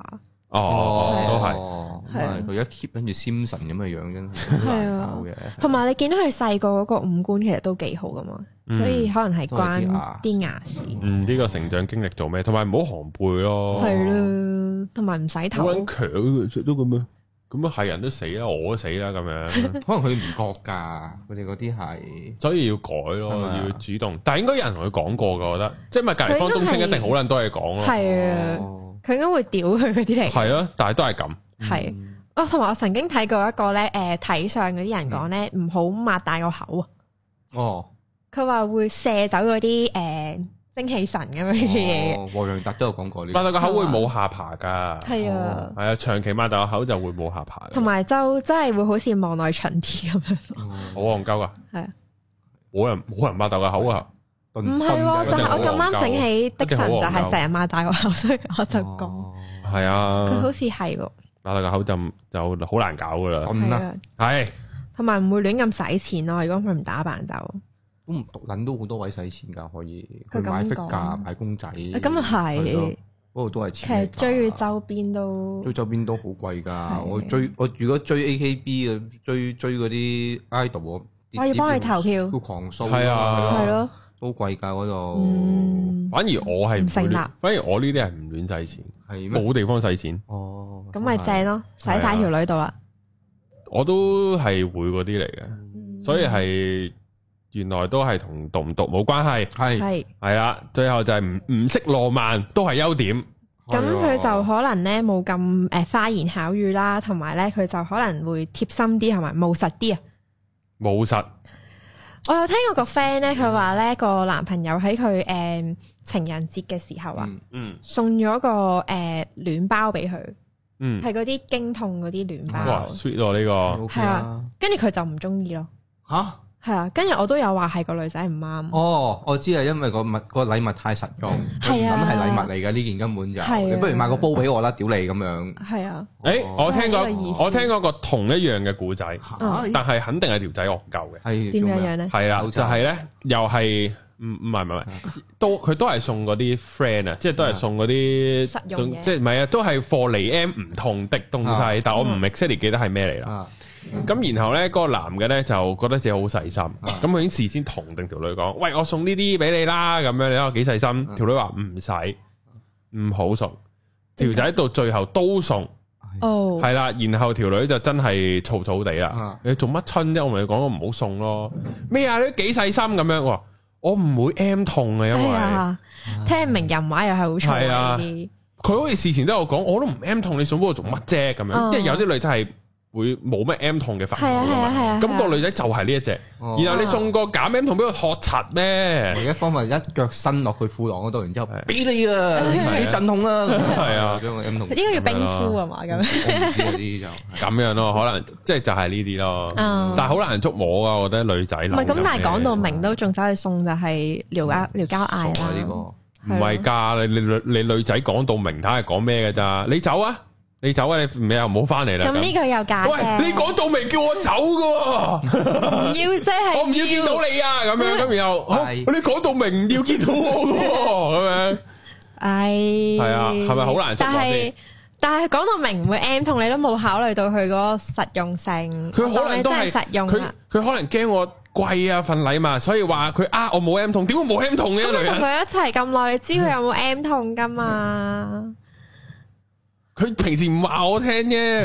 都係佢一 keep 跟住 Simpson 咁嘅樣，真係好難搞嘅。 同埋你見到佢細個嗰個五官其實都幾好噶嘛，所以可能係關啲牙事。 呢個成長經歷做咩？同埋唔好寒背咯。 係咯，同埋唔洗頭。 好強嘅，都咁樣。咁啊，係人都死啦，我都死啦，咁樣。 可能佢唔覺噶，佢哋嗰啲係， 所以要改咯，要主動。但係應該有人同佢講過噶，我覺得，即係咪隔籬方東升一定好撚多嘢講咯。 係啊，佢應該會屌佢嗰啲嚟。 係咯，但係都係咁。 係，同埋我曾經睇過一個咧，睇相嗰啲人講咧，唔好擘大個口啊。哦。佢話會射走嗰啲精氣神咁樣嘅嘢。 黃洋達都有講過呢。 擘大個口會冇下巴噶。 係啊。 係啊，長期擘大個口就會冇下巴。 同埋就真係會好似望內蠢啲咁樣。 好戇鳩啊！係啊。冇人擘大個口啊！ 唔係，就係我咁啱醒起的神就係成日擘大個口，所以我就講。 係啊。佢好似係喎。擘大個口就好難搞噶啦。係。 同埋唔會亂咁使錢咯，如果佢唔打扮就。 咁毒撚都好多位使錢㗎，可以佢買 figure 買公仔， 咁啊係， 嗰度都係錢。 其實追周邊都好貴㗎。我如果追 AKB 嘅，追嗰啲 idol， 我要幫佢投票， 都狂掃， 係啊， 係咯， 都貴㗎嗰度。 反而我係唔成立， 反而我呢啲係唔亂使錢，係冇地方使錢。 哦， 咁咪正咯，使晒條女度啦。 我都係會嗰啲嚟嘅，所以係。原來都係同讀唔讀冇關係，係啦，最後就係唔識浪漫都係優點。 咁佢就可能咧冇咁花言巧語啦，同埋咧佢就可能會貼心啲，同埋務實啲啊。 務實。 我有聽過個 friend 咧，佢話咧個男朋友喺佢情人節嘅時候啊，送咗個暖包俾佢，係嗰啲經痛嗰啲暖包。 哇 sweet 喎呢個。 係啊，跟住佢就唔中意咯。 吓？ 係啊，跟住我都有話係個女仔唔啱。 哦，我知啊，因為個禮物太實用，係啊，係禮物嚟嘅呢件根本就，你不如買個煲俾我啦，屌你咁樣。係啊。 我聽過個同一樣嘅故仔，但係肯定係條仔惡夠嘅。 係點樣咧？ 係啊，就係咧，又係唔係，佢都係送嗰啲 friend 啊，即係都係送嗰啲實用嘢， 即係唔係啊，都係貨嚟 M 唔同的東西，但我唔 exactly 記得係咩嚟啦。咁然後咧，嗰個男嘅咧就覺得自己好細心，咁佢已經事先同定條女講：喂，我送呢啲俾你啦，咁樣你睇我幾細心。條女話唔使，唔好送。條仔到最後都送，係啦。然後條女就真係嘈嘈地啦。你做乜春啫？我同你講，我唔好送咯。咩啊？你都幾細心咁樣。我唔會 M 痛啊，因為聽唔明人話又係好錯啲。 佢好似事前都有講，我都唔 M 痛，你送俾我做乜啫？咁樣，因為有啲女仔係會冇咩 M 痛嘅反應噶嘛，咁個女仔就係呢一隻，然後你送個假 M 痛俾佢學柒咩？ 另一方面一腳伸落去褲浪嗰度，然之後俾你啊，你自己陣痛啦，係啊，將個 M 痛應該要冰敷啊嘛，咁我唔知嗰啲就咁樣咯，可能即係就係呢啲咯，但係好難捉摸啊，我覺得女仔唔係咁，但係講到明都仲走去送就係撩交嗌啦， 唔係㗎，你女仔講到明，睇係講咩㗎咋？你走啊！你走啊！你又唔好翻嚟啦。咁呢個又假嘅。 喂，你講到明叫我走㗎， 唔要即係我唔要見到你啊！咁樣咁然後，你講到明唔要見到我㗎，咁樣。係啊，係咪好難捉摸先？ 但係講到明唔會 M 痛，你都冇考慮到佢嗰個實用性。 佢可能都係實用。佢可能驚我貴啊份禮物，所以話佢我冇 M 痛，點會冇 M 痛嘅？ 咁你同佢一齊咁耐，你知佢有冇 M 痛噶嘛？ 佢平時唔話我聽啫。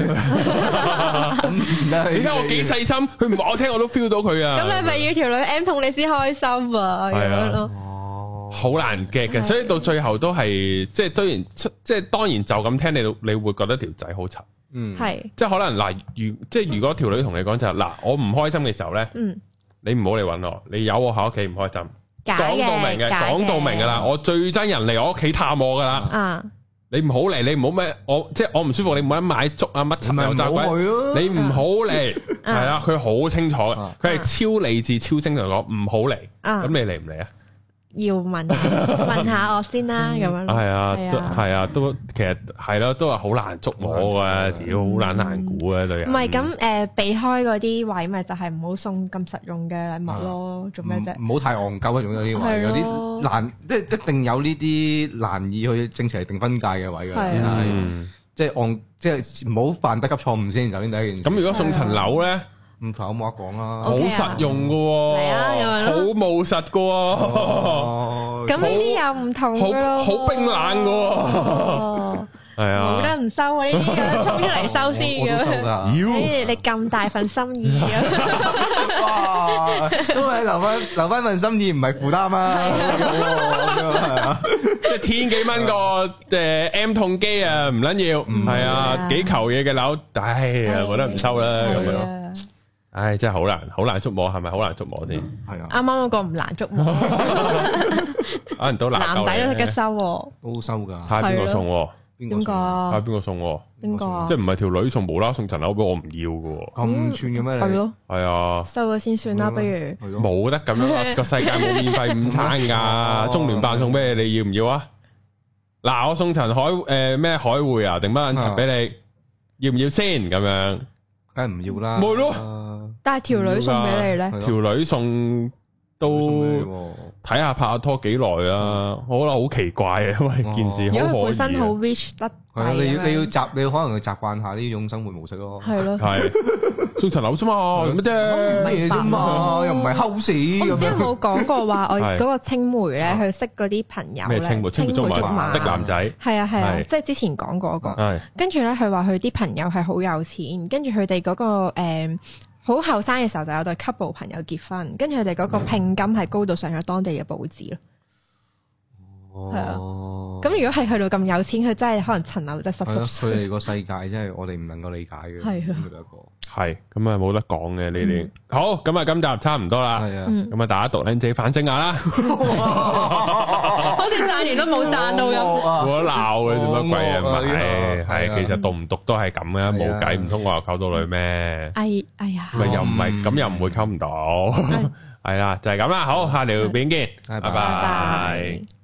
你睇我幾細心，佢唔話我聽，我都 feel 到佢啊。 咁你咪要條女 M 痛你先開心啊？咁樣咯。 好難 get 嘅，所以到最後都係即係當然就咁聽你會覺得條仔好柒， 係即係可能嗱，如果條女同你講就嗱，我唔開心嘅時候咧，你唔好嚟搵我，你有我喺屋企唔開心，講到明嘅，講到明噶啦，我最憎人嚟我屋企探我噶啦，你唔好嚟，你唔好咩，即係我唔舒服，你唔好買粥啊乜柒油炸鬼，你唔好嚟，係啊，佢好清楚嘅，佢係超理智超清楚講唔好嚟，咁你嚟唔嚟啊？ 要問下我先啦，咁樣係啊，都其實係咯，都係好難捉摸噶，屌好難估啊，女人。 唔係咁避開嗰啲位，咪就係唔好送咁實用嘅禮物咯，做咩啫？ 唔好太戇鳩啊，仲有啲位，有啲難，即係一定有呢啲難以去正邪定分界嘅位嘅，即係唔好犯得級錯誤先，首先第一件事。 咁如果送層樓咧？ 唔否冇得講啦， 好實用噶，好務實噶， 咁呢啲又唔同咯， 好冰冷噶，係啊， 冇得唔收啊！呢啲咁衝出嚟收先嘅，你咁大份心意嘅， 哇，都係留翻份心意，唔係負擔啊， 即係千幾蚊個M 痛機啊，唔撚要，係啊，幾球嘢嘅樓，唉呀，覺得唔收啦咁樣。唉，真係好難捉摸，係咪好難捉摸先？ 係啊， 啱啱嗰個唔難捉摸， 可能都難。 男仔都識得收， 都收噶。 睇下邊個送？ 邊個？ 睇下邊個送？ 邊個？ 即係唔係條女送無啦送層樓俾我唔要噶？ 咁串嘅咩？ 係咯， 係啊， 收咗先算啦，不如。 冇得咁樣，個世界冇免費午餐噶，中聯辦送俾你，你要唔要啊？嗱，我送層海匯啊，定乜撚層俾你？要唔要先？咁樣， 梗係唔要啦。 冇咯。 但係條女送俾你咧， 條女送都睇下拍拖幾耐啊！我覺得好奇怪啊，因為件事好可疑。因為本身好 rich 得， 你可能要習慣下呢種生活模式咯。 係咯， 係送層樓啫嘛，乜啫？ 乜嘢啫嘛，又唔係 house。 我之前冇講過話，我嗰個青梅咧，去識嗰啲朋友咧， 青梅竹馬的男仔， 係啊，即係之前講過嗰個。跟住咧，佢話佢啲朋友係好有錢，跟住佢哋嗰個好後生嘅時候就有對 couple 朋友結婚，跟住佢哋嗰個聘金係高到上咗當地嘅報紙咯。係啊，咁如果係去到咁有錢，佢真係可能層樓得濕濕。 佢哋個世界真係我哋唔能夠理解嘅。係啊， 係咁啊，冇得講嘅呢啲。好，咁啊，今集差唔多啦。係啊，咁啊，大家讀靚自己反省下啦。 好似讚完都冇讚到咁。 冇得鬧嘅，做乜鬼啊？唔係，其實讀唔讀都係咁嘅，冇計，唔通我又溝到女咩？ 哎呀， 咪又唔係咁，又唔會溝唔到。係啦，就係咁啦。好，下條片見，拜拜。